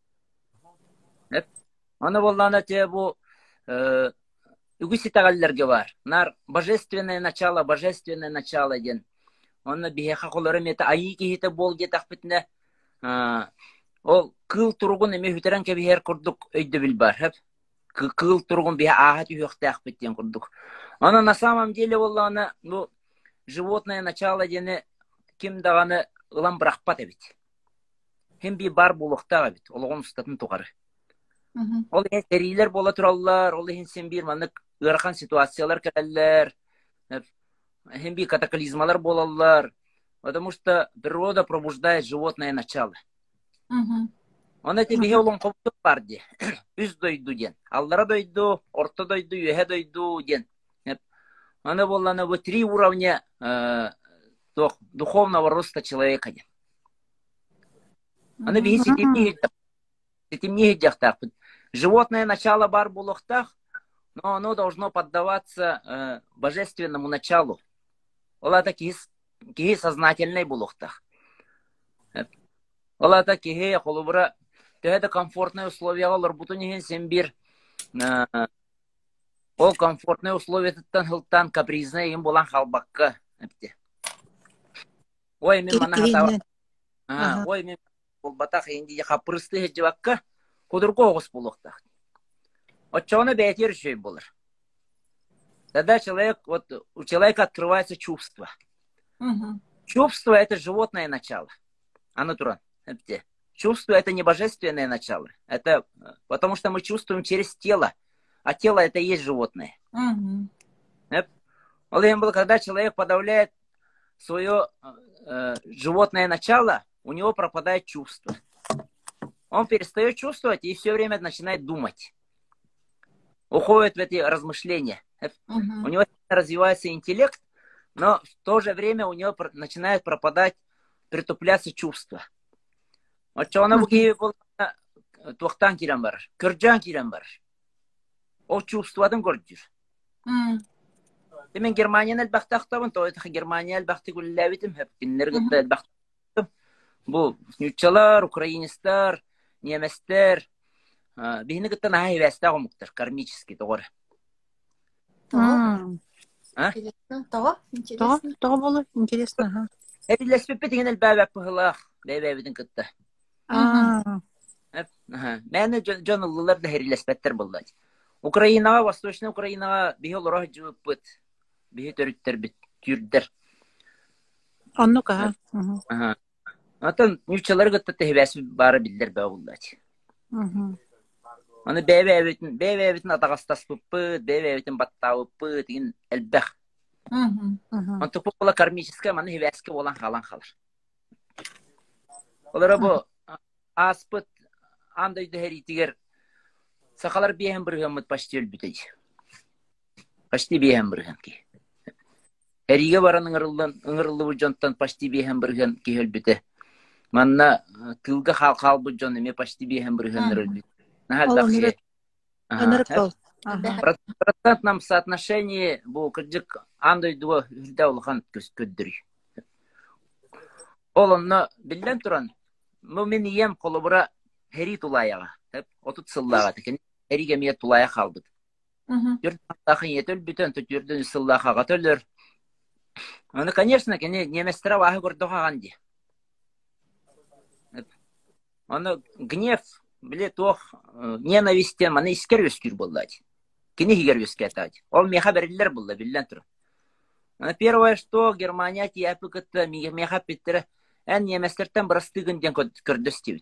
Ана боллана те бу үгүситагаллерге бар. Нар божественное начало ден. Он бихеха колоры мета айы кихите бол гетак битне. Ол кыл тургун эме хүтерен кебихер курдук өйдө бил бар. Хеп кыл тургун биха ахат үйөктак биттен курдук. Ана на самом деле боллана ну животное начало дене ким даганы ылам брахпат бит. hem bir bar bulukta bit. Olağan ustatın tuğarı.
Мгм.
Ol seriler bola turallar, ol sen bir manık ırkan situasyonlar kereller. Hem bir kataklizmalar bolallar. Потому что природа пробуждает животное начало.
Мгм.
Ona tabi olan koptu vardı. Üz doydu diyen. Allara doydu, orta doydu, yühe doydu diyen. Она была на вот 3 уровня духовного роста человека. Она
Мгм.
сетимнее дяхтах. Животное начало бар булохтах, но оно должно поддаваться божественному началу. Ола такие сознательный булохтах. Ола такие холубра. Это комфортные условия, олар бутунихин сембир. Ол комфортные условия тыттан хылтан капризный им болан халбакка. Ой, мен мана хата. Ой, мен ол батах инди хапрысты хеджвакка. Кудурго огыс булохтах. Отчона бетер шей болар. Тогда у человека открывается чувство.
Мгм.
Чувство это животное начало. Оно туран. Чувство это не божественное начало. Это потому что мы чувствуем через тело. А тело это и есть животное.
Мгм.
Когда человек подавляет свое животное начало, у него пропадает чувство. Он перестает чувствовать и все время начинает думать. Уходит в эти размышления.
Мгм.
У него развивается интеллект, но в то же время у него начинает пропадать, притупляться чувства. Вот что она в Киеве была, тухтан кирен бар, кырджан кирен бар. О чувстводан көрдүр.
Мгм.
Мен Германияны элбахтактабын, то это Германия элбахты күлләбитим, хеп кинлергетте элбахтым. Бу нючалар, украинистар, неместер, бихини гыттан хайвеста гомуктар, кармический тогор.
Интересно. То? Интересно.
То было интересно.
Эрилеспепе деген элбәбәп пыхылах, бәбәбидин гытта. Мәне жоныллылар да эрилеспеттер булды. Украинага, Восточный Украинага бихи лорах жуыппыт. Бихи төрүттер бит, түрдер.
Оннука.
Атын нючалар гытта тәһбәс бары билдер бә булды. Аны бәбәбитин атагастас пыппыт, бәбәбитин баттауыппыт деген элбәх. Анту була кармическая, маны хевәскә болан халан халар. Олар бу аспыт андай дәһри тигер сакалар беһәм биргән почти өлбүтәй. Почти беһәм биргән ки. Эриге баран ыңырылы бу жонтан почти беһәм биргән ки өлбүтә. Манна тылга хал бу жон эме почти беһәм биргән өлбүт. Нахал баксы. Процентном соотношении бу кыджык андай дуа үлдә улхан көддүр. Олонно билден туран. Мо мен ием колобура хери тулаяга. Отут сыллага текен эриге мие тулая халбыт. Жүрдөн етөл бүтөн түрдөн сыллага төлөр. Аны, конечно, неместера вахы көрдөган ди. Аны гнев, биле тох ненавистен маны искер өскүр болдать. Кини хигер өскетать. Ол меха берилер булды билден тур. Первое, что Германия тиапы кытты меха питтере эн неместерден бырастыгынден көрдөстүбүт.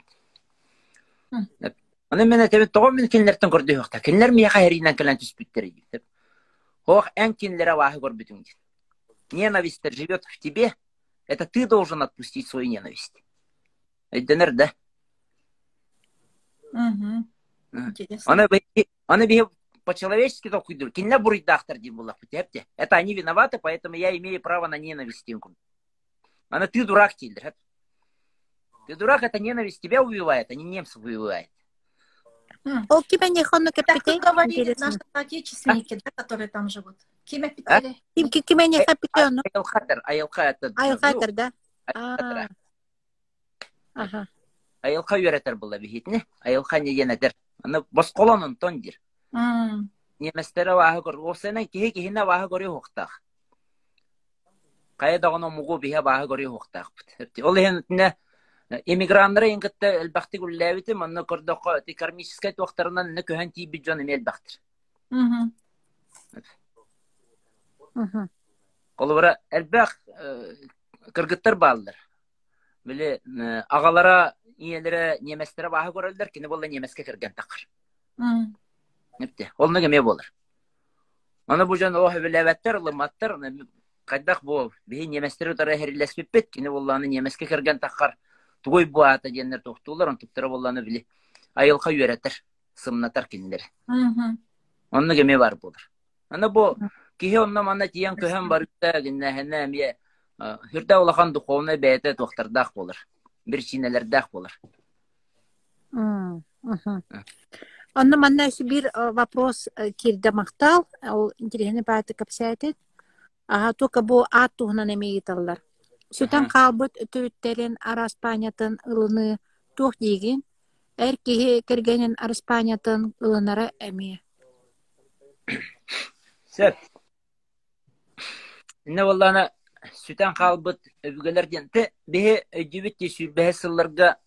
Аны мен тебе тогон мен кинлерден көрдөйөкта. Кинлер меха херинен келен түспүттер дип. Ох, эн кинлере вахы көрбүтүң. Ненависть живет в тебе, это ты должен отпустить свою ненависть. Эдденер, да?
Интересно.
Она бы по-человечески только идут. Кинля бурить дахтар димулах. Это они виноваты, поэтому я имею право на ненависть. Она ты дурак, Тильдер. Ты дурак, это ненависть тебя убивает, а не немцев убивает.
О, киме не хону
Так
капитей?
вы говорили, наши соотечественники, да, которые там живут. Киме питали?
Киме не капитей, ну?
Айлхатер,
да?
Айлха юретер была бихитне. Айлха не енетер. Она босколонун тондир. Неместера вахы кор. Осенен кихи-кихина вахы кори хоқтақ. Кайдағыны мұғу биха вахы кори хоқтақ. Ол ехенетіне эмигранлары енгітті әлбәқті күлләбіті, мұны көрдіқы кармическай тоқтарынан үні көһен тейбі жон еме әлбәқтір. Ол бұра әлбәқ кіргіттір балылар. Біле ағалара иелері неместері бағы көрілдір, кені болла немеске кірген тақыр.
Мгм.
Непте, олны кеме болыр. Оны бұ жан оғы біләбәттер, лыматтар, қайдақ бұл, бейін неместері ұтары әрілеспеппет, кені болланы немеске кірген тақыр, тугой бұ ата денлер тоқтулар, он тұқтары болланы білі, айылға үйеретір, сымнатар кенілер.
Мгм.
Оны кеме бар болыр. Аны бұ, кеге онна мана тиян көһен бар үтті, гіннәхіне әмие, хүрді олақан дұқуына бәйті тоқтардақ болыр. Bir çiğnelerdak olur.
Онна манна бир вопрос кирде мактал, ол интересный баты капсайтет. Только бу ат тугунан эмейталлар. Сүтен калбыт өтөттерин араспанятын ылыны тух деген, эркеге киргенин араспанятын ылынара эме.
Сөп. Инне валлана süten kalbıt öbügelerden te behe ödübütte sürbehe sıllarga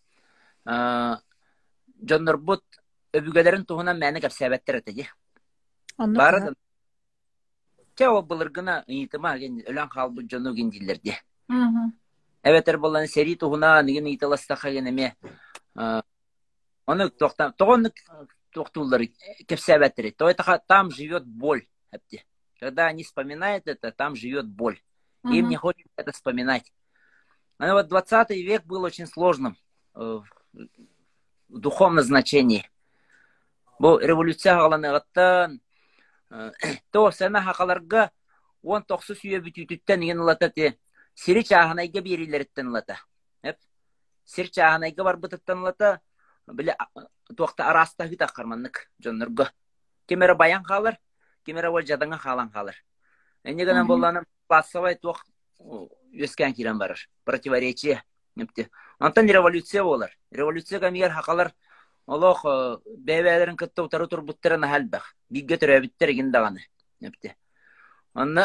jonnorbut öbügelerin tuğuna meni kapsabetler etedi. Barada çao bulurguna itima ölen kalbıt jonnu gendillerdi. Evet erbolan seri tuğuna nigin italastaka geneme onu toğonluk toğtulları kapsabetler etti. O там живет боль. Когда они вспоминают это, там живет боль. Им не хочется это вспоминать. Но вот 20 век был очень сложным в духовном значении. Бұл революция ғаланығыттан, то сәна хақаларға 19 сүйе бүтүтіттен еген ұлата сері чағынайға берілеріттен ұлата. Сері чағынайға бар бұтыттан ұлата, білі тоқта араста хүт аққарманлық жонларға. Кемері баян қалыр, кемері ол жадыңа қалан қалыр. Әнегінен болғаным классовый тоқ өскен керен барыр. Противоречие. Антон революция болар. Революция кәмегер хақалар олық бәйбәлерін күтті ұтары тұр бұттырын әлбәқ. Бігге түрі өбіттер еген дағаны. Анна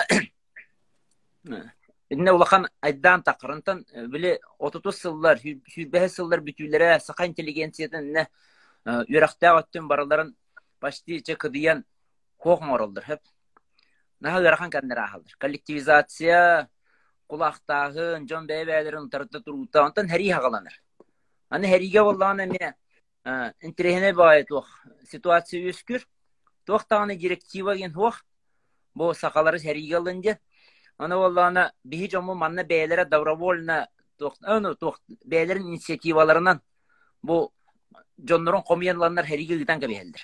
Инне улахан айдан тақырынтан білі 30 сыллар, 105 сыллар бүтүлері сақа интеллигенциятын үйрақтағы өттен барыларын почти чекыдиян қоғын орылдыр. Наха гарахан кандыр ахалдыр. Коллективизация, кулақтағын, жон бәйбәлерін тарыта тұрута, онтан хәри хағаланыр. Аны хәриге боллағына мен интерехіне бай тоқ ситуация өскір, тоқтағаны директива ген тоқ, бұл сақалары хәриге алынды. Аны боллағына бейі жомы манна бәйлері добровольна тоқ бәйлерін инициативаларынан бұл жонларын қомиянланар хәриге гитан кәбейелдір.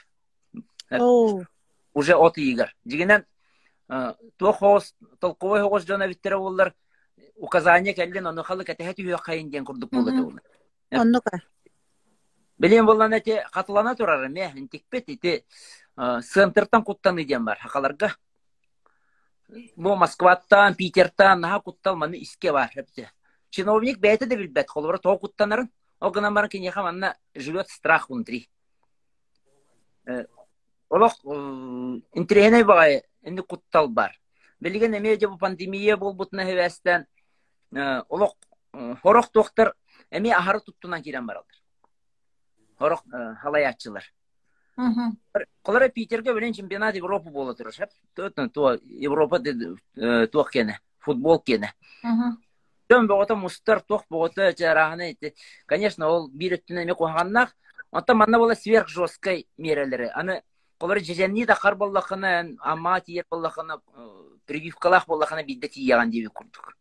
Уже от игр. Дегенен тоқос толковой хоғыз жона биттері олар указания кәлден оны қалы кәтәхәті үйе қайын ден күрдік болды олар.
Оннуға.
Білен болан әте қатылана тұрары ме, интекпет әте сынтыртан құттан еден бар хақаларға. Бұл Москваттан, Питертан, наға құттал маны іске бар. Чиновник бәйті де білбәт, қолыбыр тоғы құттанарын, оғынан барын кенеға манна живет страх внутри. Олық интерехіне бағай енді құттал бар. Білген әмейде бұл пандемия бол бұтына хевестен олық хорақ тоқтар әмей ахары тұттынан керен баралдар. Хорақ халаятчылар. Қолары Питерге білен чемпионат Европа болы тұрыш. Европа тоқ кені, футбол кені. Төн бұғыта мұстар тоқ бұғыта жарағыны етті. Конечно, ол бір өттін әме қоғаннақ. Онта манна бола сверх жесткай мерелері. Аны қолары жеженні да қар боллақына, ама тиер боллақына, прививкалақ боллақына бидді тиеған дебе күрдік.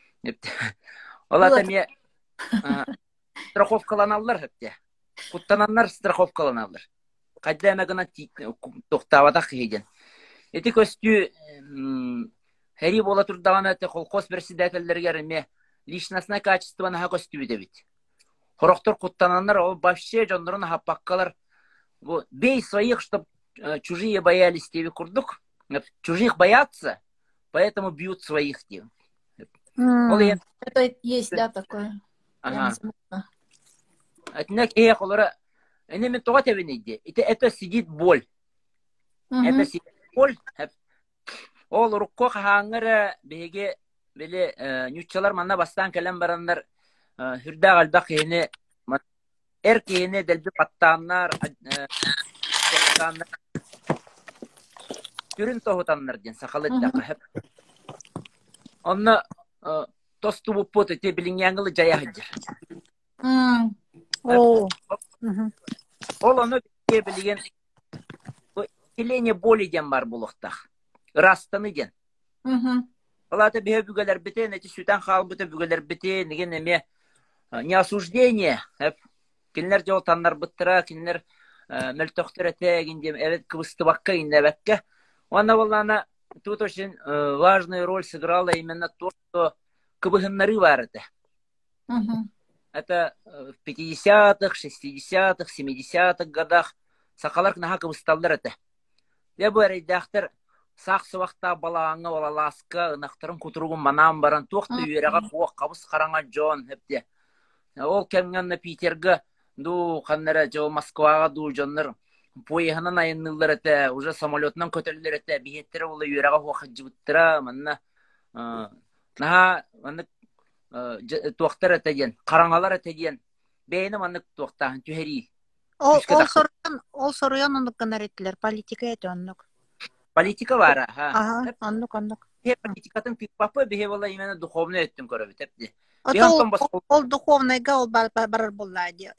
Олата ме страховкаланалар өтті. Құттананлар страховкаланалар. Қайда әмәгіна тоқтавадақ кейден. Еті көстю хәри бола тұрдаған әті қолқос председательдергер ме личностное качество наға көстю бедебет. Хорохтор құттананлар, ол баще жондырын хаппаққалар. Бей своих, чтоб чужие боялись тебе курдук. Чужих боятся, поэтому бьют своих.
Это есть, да, такое.
Ага. Это сидит боль. Это сидит боль. Ол рукко хаңыр беге беле нюччалар манна бастан келен барандар хүрдә галда кыйны эркене делби паттаннар түрін тоғытаннар ден сақалыдда қахып. Онна тосту бұппот өте білін яңылы жая хыджыр.
О.
Ол оны білген келене боли ден бар болуқтақ. Растаны ден. Олаты бе бүгелер бітен, әті сүтен қағыл бітен бүгелер бітен, деген әме не осуждение. Кенлер жол таннар бұттыра, кенлер мөлтөқтір әтәгінде, әвет кыбысты баққа инне бәкке. Оны болана тут очень важную роль сыграла именно то, что кыбыхыннары бар это. Это в 50-х, 60-х, 70-х годах сақалар кнаха кыбысталдар это. Я бы редактор сақсы вақта балаңы олаласқа ынақтырын күтіруғын манам баран тоқты үйереға қуақ қабыс қараңа жон хепте. Ол кәмгенні Питерге ду қаннары жол Москваға ду жонлар поеханан айыннылар әті, уже самолетнан көтерлер әті, бейеттері олы үйереға қуақы жібіттіра, манна наға манны тоқтар әті ден, қараңалар әті ден, бейіні манны тоқтағын түйері.
Ол соруян онық қанар еттілер, политика әті онық.
Политика бар,
Онық.
Политикатын пикпапы бейе бола именно духовный өттін көрі бітепті.
Ол духовныйга ол барар болады.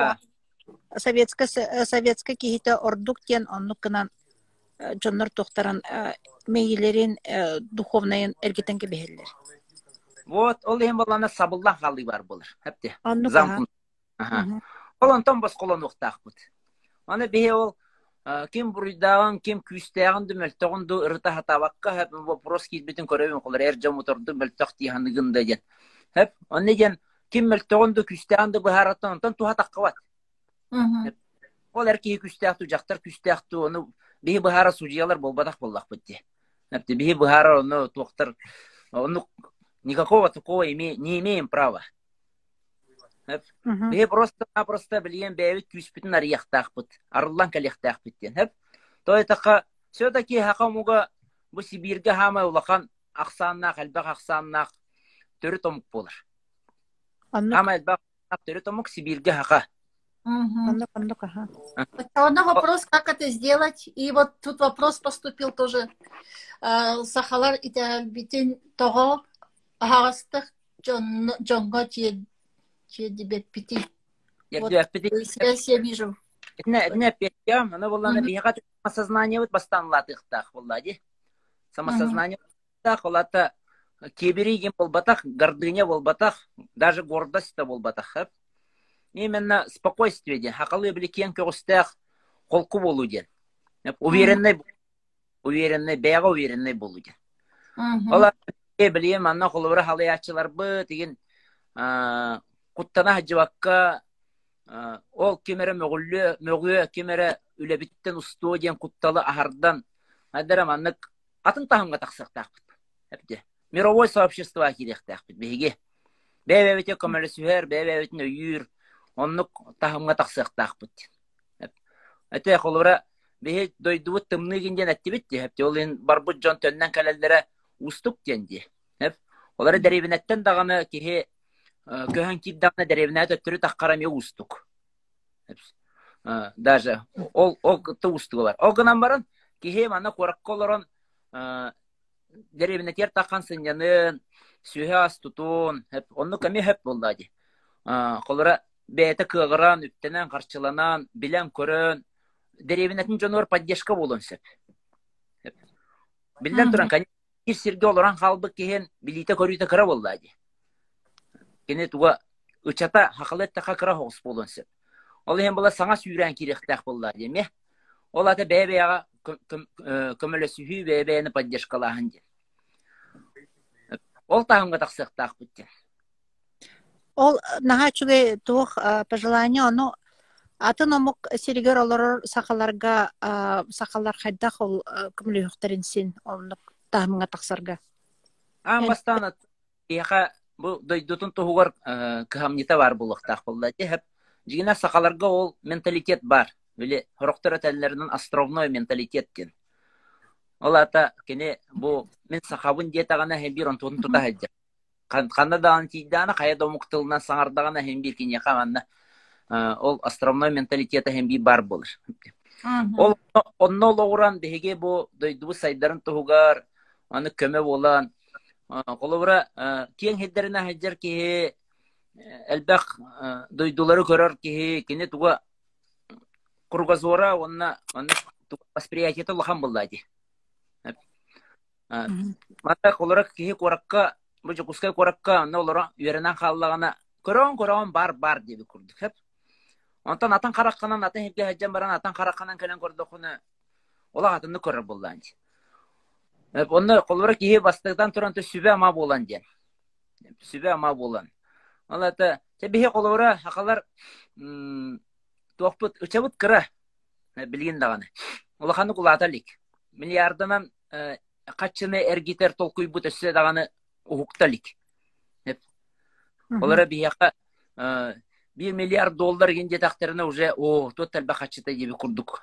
Советска кихите ордук тен онық қынан жонлар тоқтаран мейлерин духовныйын әргетенге бейелер.
Вот, ол ең болана сабылдан қалы бар болыр. Хәпте.
Онық.
Ол онтан бас қолан оқтақ бұд. Аны бейе ол кем бұрыдағын, кем күстәғын дүмәлтіғын ду ұрыта хатабаққа хәп вопрос кейтбетін көребін қолар әржа моторды мөлтіқ дейханығында ден. Хәп, оны ден кем мөлтіғын ду күстәғын ду бұхараттан онтан туға таққа бат. Ол әркеге күстәқту, жақтар күстәқту, оны бейі бұхара судьялар болбадақ боллақ бітті. Хәпте, бейі бұхара оны тоқтар, оны никакого такого не имеем права. Бе просто білген бәйбіт күспітін арияқтақ бұд, арылан кәлектақ біттен. Той тақа, все-таки хақа мұға бұл Сибирге хамай олақан ақсаннақ, әлбәқ ақсаннақ түрі томық болыр. Хамай әлбәқ түрі томық Сибирге хақа.
Одна вопрос, как это сделать. И вот тут вопрос поступил тоже. Сахалар и битин того ағастық джонға дебет пяти. Вот связь я вижу.
Это пятя, она была на бегать самосознание вот бастанлатых так, влади. Самосознание так, лата киберигим болбатах, гордыня болбатах, даже гордость болбатах. Именно спокойствие ден, хакалы бликен кёстах, холку болуден. Уверенный, бега уверенный болуден. Ола білем, анна холовра халаячылар бы, деген Құттана жабаққа ол кемері мөғі кемері үләбіттен ұстуы ден құтталы ағардан айдарам анық атын тағымға тақсықтақ бұд. Мировой сообщество керектақ бұд. Бейге бәй-бәйбете көмілі сүйер, бәй-бәйбетін өйір, онық тағымға тақсықтақ бұд. Әте қолыра бейге дойдуы тымнығын ден әтті бітті. Ол ең бар бұд жон төннен кәлелдері ұстық денді. Олары дәребінеттен дағаны кеге көһөн киддағына дәребіне өттірі таққарам еу ұстық. Даже ол күтті ұстығы бар. Ол ғынан барын кеге мана қораққа оларын дәребіне тер таққан сынянын, сүйе астутун, оны көме хөп болды. Қолыра бәйті кығыран, үптенен, қарчыланан, білен көрін, дәребінетін жонуар поддержка болын сөп. Білден тұран, кәне серге оларан қалбы кеген білейті көрейті кіра болды. Кене туға ұчата хақылеттіға кіра хоғыс болын сөп. Ол ең бұла саңа сүйрен керектәк болды деме. Ол аты бәй-бәйға көмілі сүйі бәй-бәйіні поддержкалағын ден. Ол тағымға тақсықтақ бұттен.
Ол наға чүге туық пожелание, оны атын омық серігер олар сақаларға, сақалар қайдақ ол көмілі үқтарынсен, оны тағымға тақсарға.
Бастан аты, бұл дойдутын тұғығыр кығамнита бар бұлықтақ болды. Жигина сақаларға ол менталитет бар. Біле, хорықтыр әтәлілерінің островной менталитет кен. Ол ата, кене, бұл мен сақабын детағана хембир он тұтын тұта әдді. Қанда дағын тейдіғана, қая домықтылынан саңардағана хембир кене қағанна. Ол островной менталитеті хембир бар болыр. Ол онны олығыран беге бұл дойдуы сайдарын тұғығар, аны көмі болан. Қолыбыра кен хеддеріне хеджер кеге элбэх дойдулары көрөр кихи кини туга кургазора онна восприятие лахан буллади. Мата колорак кихи коракка бу жокускай коракка онна олора үйренен халлагана көрөн бар диби курдук хеп. Онтан атан каракканан атын хепке хаджан баран атан каракканан келен көрдөхүнө ола атынды көрөр булланди. Онна колорак кихи бастыгдан туранты сүбе ама болан ден. Сүбе ама болан. Алата тебихе колора хакалар тоқпут учабут кыра билген даганы. Улаханы кулаталик. Миллиардынан качыны эргитер толкуйбут өсө даганы ухукталик. Олара бияка $1 миллиард ген жетактерине уже тот талба качыта деби курдук.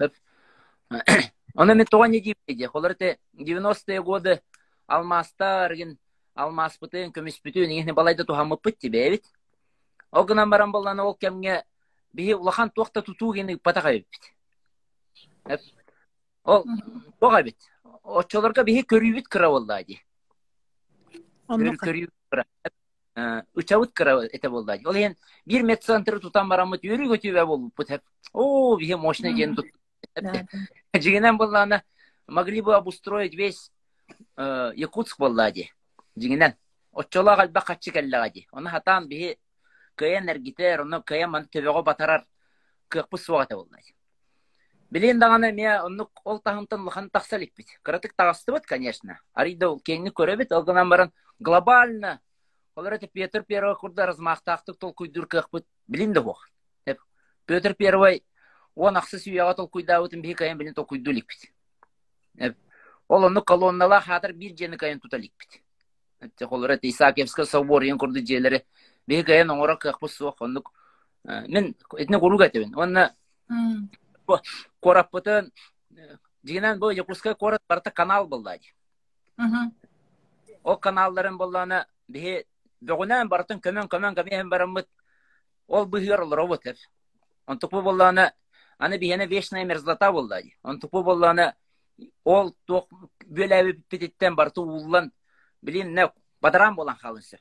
Она мен тоган не диби. Оларте 90-е годы алмастар ген алмас бүтүн көмүс бүтүн эне балайда тухамып битти бебит. Огынан баран болланы ол кемге бии улахан тоқта тутуу гени патагай бит. Ол тогай бит. Очолорга бии көрүбүт кыра болдады. Көрүбүт кыра. Учабыт кыра эте болдады. Ол ен 1 медцентр тутан барамыт юрий көтүбө болуп бит. Бии мощный ген тут. Жигенен болланы могли бы обустроить весь Якутск болдады. Жигенен очолога алба качы келлагади. Оны хатан бии каян эргитер, оны каян ман төбөгө батарар кыппы сугата болдайды. Билен даганы мен оны ол тахынтын лхан таксалик бит. Кратык тагыстыбыт, конечно. Арида ол кеңни көрөбүт, алгынан баран глобально. Олар эти Петр Первый курда размактактык толкуйдур кыппыт. Билин да бок. Петр Первый он аксыз уяга толкуйдабытын бии каян билин толкуйдулик бит. Ол оны колоннала хатыр бир жени каян туталик бит. Олар эти Исаакиевский собор ен курды жерлери бегаян оңора кыппы суак онук. Мен этне куруга тебин. Онна кораппытын дигенен бу Якутскай корат барта канал болдайды. Ол каналларын болланы бие бөгөнен бартын көмөн барамыт. Ол быгыр роботер. Он тупу болланы аны биене вечная мерзлота болдайды. Он тупу болланы ол ток бөлөбү питеттен барту уллан билин не бадаран болан халынсы.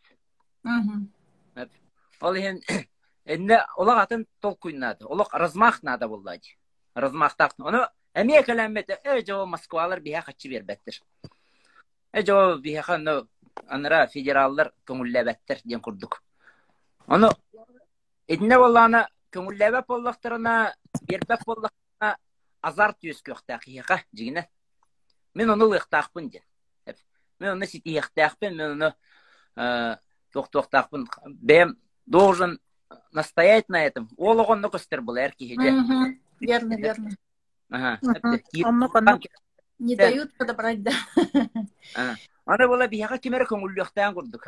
Ол энне олар атын толкуйнады. Олар размах надо болдайды. Размахтак. Оны эмне келемете жоо Москвалар бия качы бербеттир. Жоо бия ханы анра федераллар көңүллөбөттөр ден курдук. Оны энне болланы көңүллөбөп боллактарына бербеп боллактарына азарт юскөктак хыга жигине. Мен оны лыктакпын ден. Мен оны ситиектакпын, мен оны токтоктакпын. Бем должен настоять на этом. Ологонно костер был эркиге.
Верно.
Ага.
Не дают подобрать, да.
Аны бола бияга кимер көңүллөктөн курдук.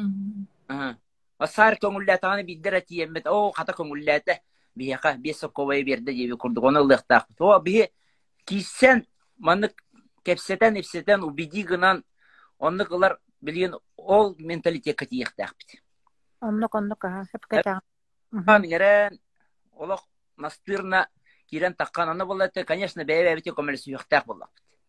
Асар көңүллөтаны биддер атиемет. Ката көңүллөтө бияга бесоковой берди деп курдук. Оны лыктак. То бие кисен маны кепсетен ипсетен убеди гынан онны кылар билген ол менталитетке тиектак бит.
Оннук хепкета.
Миңерен олох настырна кирен таккан аны болот, конечно, бебете коммерсию хтак болот.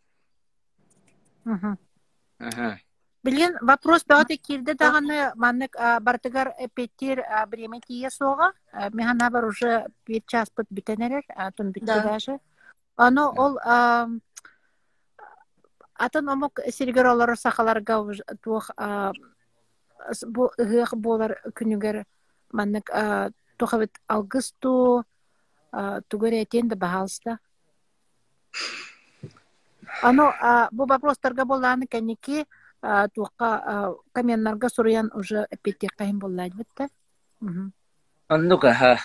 Билген вопрос бааты кирде даганы маннык бартыгар петтир бреметие сога. Механа бар уже 1 час пыт битенерер, тун битти даже. Аны ол атын омок сиргер олар сахаларга тух бу гых болар күнүгер маннык тухавит алгысту тугере тенде бахалста. Ано бу вопростарга боланы кеники тука каменнарга сурян уже петти кайын боллайды битте.
Аннука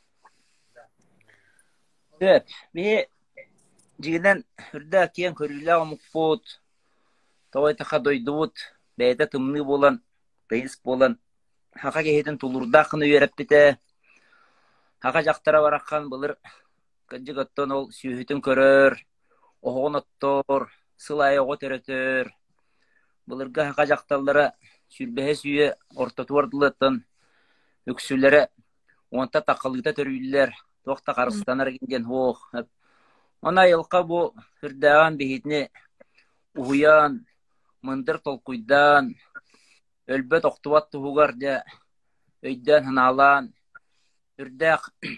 Деп, ми жигинен үрдө кийин көрүлө амукпут. Товайта хадойдут, бейде тымны болан, бейс болан. Хака кехетин тулурдакыны үйрөп бите. Хака жактара бараккан былыр кыжыгыттан ол сүйүтүн көрөр, огон оттор, сылай ого төрөтөр. Былырга хака жакталары сүрбеhe сүйө ортотуардылыттан өксүлөрө онта такылыта төрүлөр. Тоқта қарыстанар кенген хоқ. Она елқа бу үрдәған бейітіне уян, мындыр толқуйдан, өлбет оқтуат тұғығар де өйдөн ханалан, үрдәк,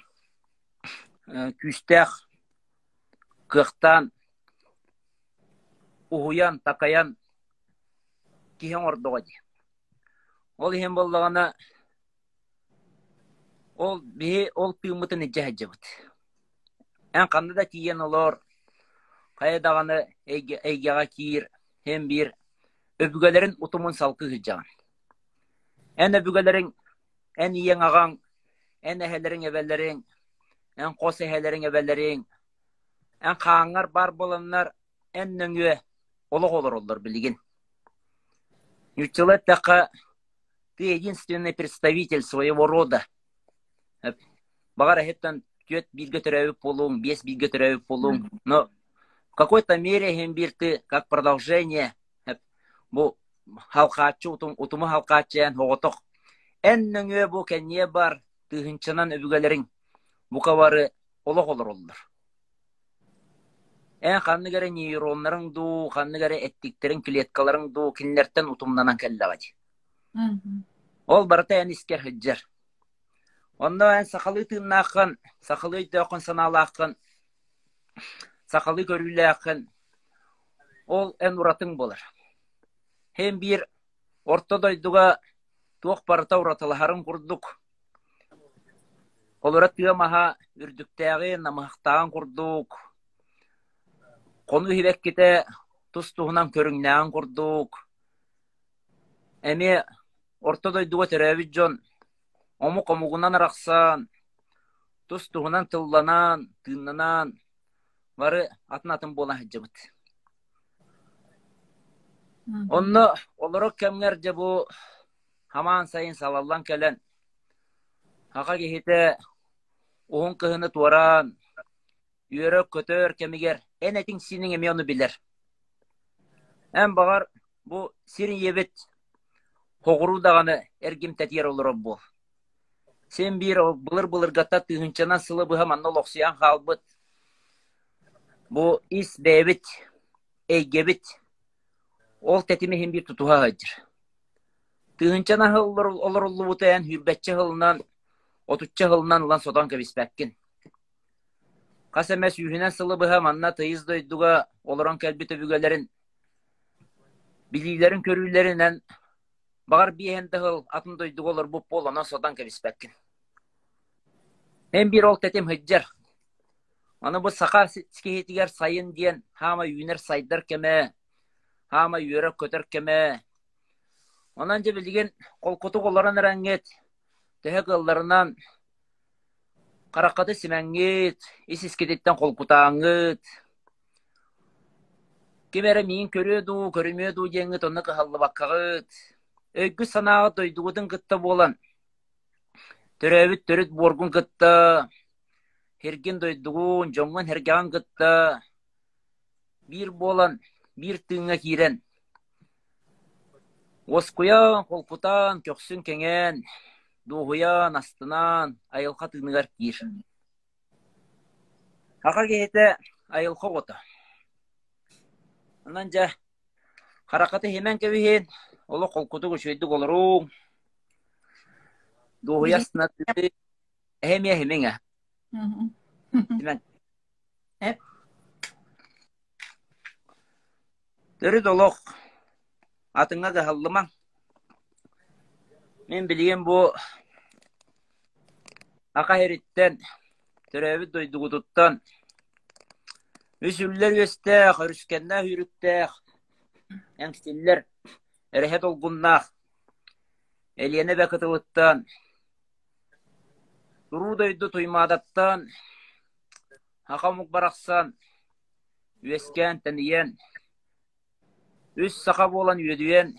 күстәк, кыхтан, ухуян, такаян, киһен ордоға ди. Ол иһин боллағана, ол тыымытын иджа хаджабыт. Ән қанды да тиен олар, қайдағаны әйгеға киір, hem bir öbügelerin utumun salkı hıcağın. En öbügelerin, en iyen ağan, en ehelerin evvellerin, en kos ehelerin evvellerin, en kağanlar bar bolanlar, en nöngüe oluk olur bilgin. Ютилеттака ты единственный представитель своего рода. Багара хеттан түйет билге төрәвіп болуң, бес билге төрәвіп болуң. Но в какой-то мере хембир ты как продолжение бу халкачы утумы халкачыян хоғытық. Ән нөңе бу кәнне бар тыгынчынан өбүгелерин бу кабары олық олар. Ән қанны кәрі нейронларың ду, қанны кәрі әттіктерін клеткаларың ду, кинлерттен утумнанан кәллағады. Ол барыта ән искер хыджар. Онда ән сақалы тыыннақын, сақалы өйдөқын саналақын, сақалы көріләқын, ол ән ұратың болар. Hem bir ortodayduga tuoq parta uratılahарын kurduk. Olarak tığamaha ürdüktəği namıqtağın kurduk. Konu hibekkite tustuğundan körüngnağın kurduk. Emi ortodayduga terevizyon omuk omuğundan araqsan, tustuğundan tıllanan, tığınanan varı atın bolan hıcabıt. Onu olarak kemlerce bu haman sayın salallan kelen haka gehite uğun kıhını tuvaran yörök kötör kemiger en etin sinin emi onu bilir. En bağır bu sirin yebet hoğuru dağını ergim tetiyer olur bu. Sen bir bılır gata tığınçanan sılı bu hemen noloksiyan halbıt. Bu is bebit eygebit ol tetimi hem bir tutuha hacır. Tığınçana hıllar olur butayan hürbetçe hılından, otutça hılından lan sodan kabispekkin. Kasemes yühünen sılı bıha manna tıyız doyduğa oluran kelbi töbügelerin, bilgilerin körüylerinden bağır bir hende hıl atın doyduğa olur bu polanan sodan kabispekkin. Hem bir ol tetim hıccar. Onu bu sakar sikehetiger sayın diyen hama yüner saydır keme, hama yörök kötör keme. Onanca bildiğin kolkutu kolların renget, tehe kıllarından karakatı simengit, isiskiditten kolkutağıngit. Kimere miyin körüyordu, körümüyordu jengit, onu kıhallı bakkağıt. Öykü sanağı doyduğudun kıtta bolan. Törevit törüt borgun kıtta. Hergin doyduğun, jongun hergağın kıtta. Bir bolan, bir tığına kiren. Oskuyan, kolkutan, köksün kengen, doğuyan, astınan, ayılqa tığınıgar kir. Haka gehete ayılqa ota. Ondanca, harakatı hemen kevihin, olu kolkutu kuşuydu olurun. Doğuya sınatı, hemen. Hemen.
Hep.
Dörü doluk. Atınga gahallımam. Men bileyim bu aka heritten, törevi doyduğuduttan, üsüller göstek, hürüskende hürüktek, enkstiller, erehet olgunnak, eliyene bekatılıktan, duru doydu tuymadattan, haka mukbaraksan, üesken teniyen, üst sakab olan üyedüyen,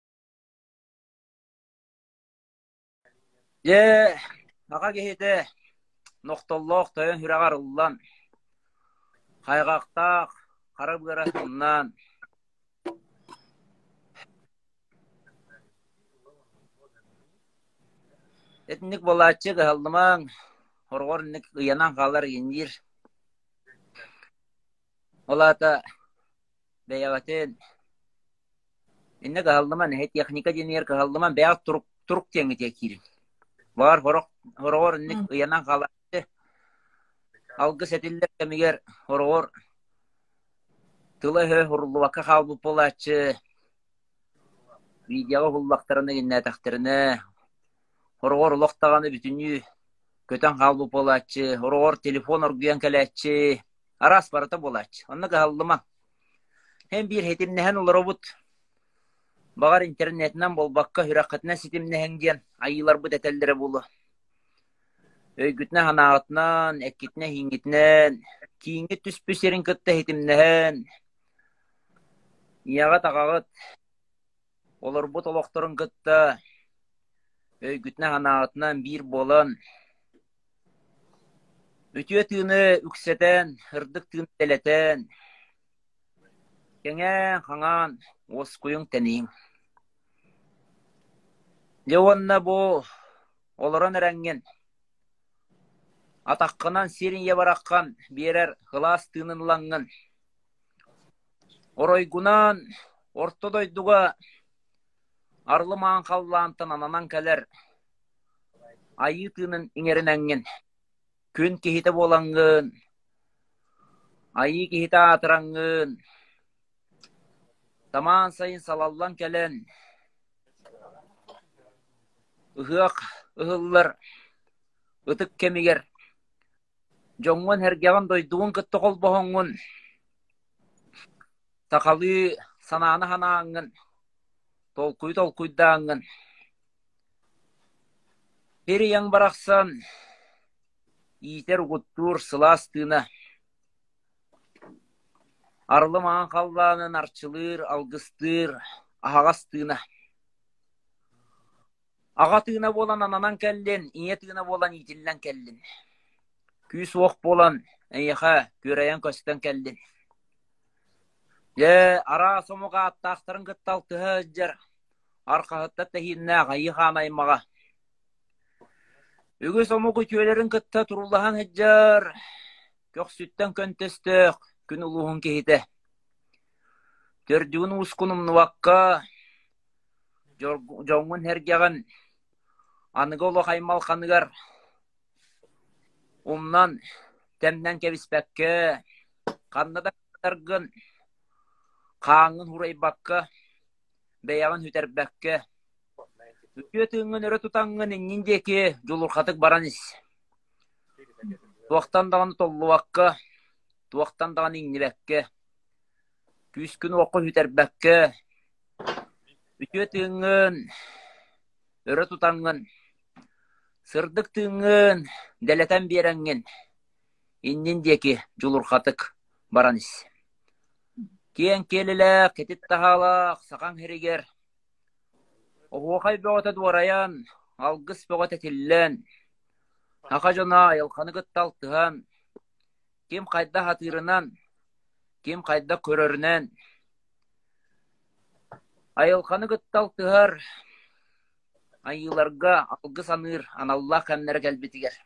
je, haka gehete, noktalloq toyan hüragar ullan, kaygaqtaq, qarab garasından, etnik bolatçı gıhaldıman, horgornik yanan qalar yenir. Olata, beyagaten, inne gıhaldıman, het yaknika jenir gıhaldıman, beyag turuk tengit yakirin. Бар хорогор ник уянан калачы. Алгыс этиллер кемигер хорогор тылы хурлубакка калбы болачы. Видео хуллактарына генне тахтырына. Хорогор локтаганы бүтүнү көтөн калбы болачы. Хорогор телефон оргуян келечи. Арас барата болачы. Онна калдыма. Hem bir hetimnehen olurubut. Bağar internetinden bolbakka hürakatına sitimnehen diyen ayılar bu detellere bulu. Öygütne hanağıtnan, ekkitne hingitnen, kiyingi tüspüserin kıtta hetimnehen. Iyagat ağağıt, olurbut oloktorun kıtta. Öygütne hanağıtnan bir bolan. Ütüye tığını ükseten, hırdık tığını deleten. Kenge hangan oskuyun tenin. Leonna bu oloran erengen. Ataqqanan serin yabarakkan birer hılas tığınınlangan. Oroygunan ortodoyduga arlıman kallantan ananan keler. Ayı tığının inerinengen. Kün kehite bolangın. Ayı kehite atırangın. Zaman sayın salallan kelen. Ihıak, ıhıllar, ıtık kemiger. Jongun hergegan doyduğun kıttı kol boğungun. Sakalı sanağını hanağın. Tolkuydağın. Peri yan baraksan, iyiter guttur sılastığına. Arlı mağan kallanın arçılır, algıstır, ahagastığına. Ağa tığına bolan ananan kellen, iye tığına bolan itillen kellen. Küs oq bolan, eyha, göreyen kösten kellen. Ara somuğa attaqtırın kıttal tıhıcır. Arka hıtta tehinna gayı xanaymağa. Ügü somuğu köylerin kıtta turullahan hıcır. Kök sütten köntestik, gün uluğun kehite. Tördüğün uskunum nuvakka. Jongun hergegan. Anıgolu haymal kanıgar. Umnan temden kevispekke. Kannada katargın. Kağın huray bakka. Beyağın hüterbekke. Ütüyetüğün öre tutangın innindeki julurkatık baranis. Tuaktan dağını tollu vakka. Tuaktan dağını innibekke. Küskün oku hüterbekke. Ütüyetüğün öre tutangın. Sırdık tığın deleten berengin. Innindeki julurkatık baranis. Kiyen kelilek, ketit tahalak, sakan heriger. Ohuakay boğata duarayan, algıs boğata tillen. Hakacana yalkanı gıttaltıhan. Kim kayda hatırınan, kim kayda körörünen. Ayılkanı gıttaltıhar. Ayılarga algıs anır, anallah kanları gelbetiger.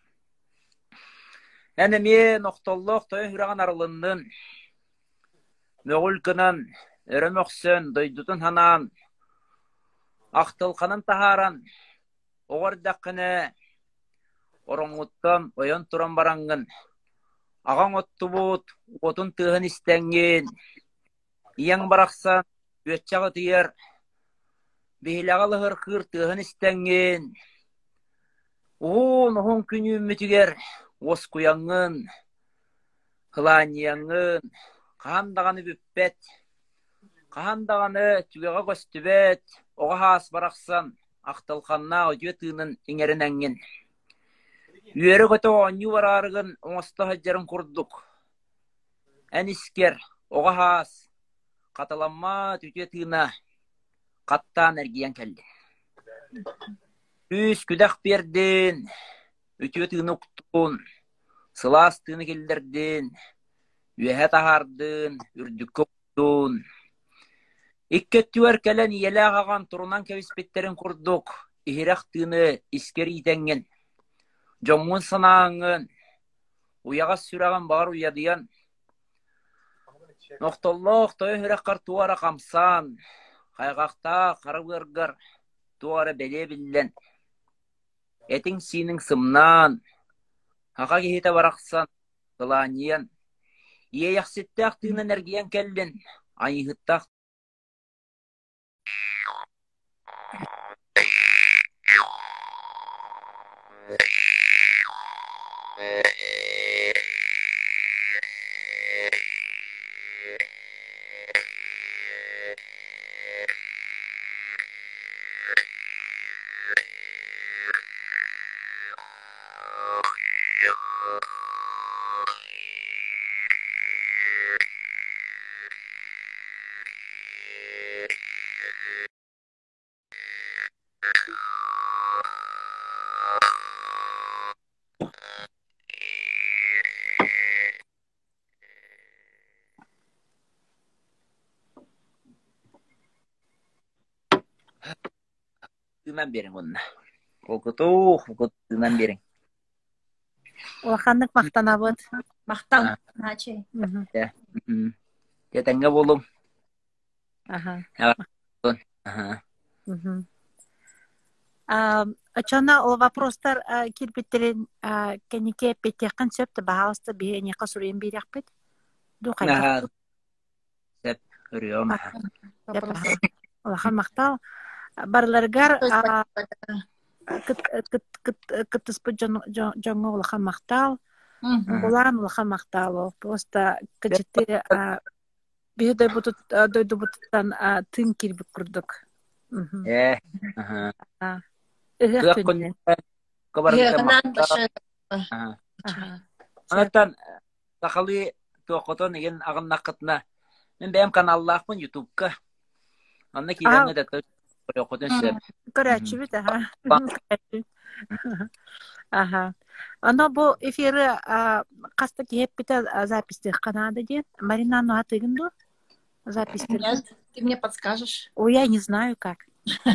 Enemi noktolluq toyun hürağın aralının. Mögül kınan, öremöksön, doydutun hanan. Aqtılkanın taharan. Oğardakını. Oronguttan oyon turan barangın. Ağan ottu bud, otun tığın istengin. İyan baraksan, ötçağı tıyır. Bihilağı hırkır tığın istengin. Oğun künü mütüger. Oskuyangın. Hılaniyangın. Kahandağını büppet. Kahandağını tügeğe göstübet. Oğa has baraksan. Aqtılkanna ötüye tığının inerinengin. Üyeri kötü onyu vararıgın oğusta hıccarın kurduk. En isker, oğa has, katılanma tütüye tığına, kattan ergiyen keldi. Üs küdak berdin, ötüye tığını uktun, sılas tığını keldirdin, üyehe tahardın, ürdükü uktun. İkketüver kelen yele ağagan turunan kevispetlerin kurduk, ihirak tığını isker itengen. Jongun sanağın, uyağa sürağın bağır uyadiyan. Noktolluq toyu hürekkar tuara kamsan, kaygaqta karıgırgır, tuara bele billen. Этин синин сымнан, хака кихите барақсан, кыланиен, иеяқсеттақ тыын энергиян келлен, айыхыттақ. Тыынан берің онна. Тыынан берің.
Улаханнык мақтанабыт.
Мақтан. Начай.
Тетеңге болым.
Ага.
Ага.
Очона ол вопростар кирбиттерин кенеке петекин сөпті бағалысты бейне қасурен берек бет.
Ага. Сәп, үріом.
Улахан мақтал. Барларгар кыттыспы жоңы улахан мақтал. Улан улахан мақтал. Просто качетті бейді дойду бұтыттан тын кирбік күрдік.
Ага. Анаттан тақалы тоқотон еген ағынна қытына. Мен бәйім каналлақпын ютубка. Анна кейден өдәтті тоқотон сөп.
Көрәтші біт, ага. Ано бұл эфирі қасты кейіп біті записті қанады ден. Марина, ну атығынды? Записті.
Нет, ты мне подскажешь.
Ой, я не знаю как.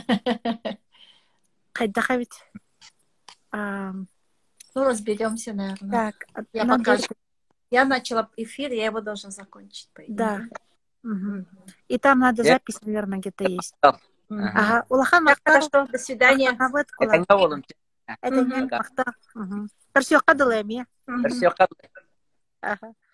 Хайдаха ведь.
Ну, разберемся, наверное.
Так,
я покажу. Я начала эфир, я его должна закончить.
Да. И там надо запись, наверное, где-то есть. Ага. Улахан мақтал.
Хорошо, до свидания.
Это не мақтал. Персиоқа дылайым, я.
Персиоқа дылайым.
Ага.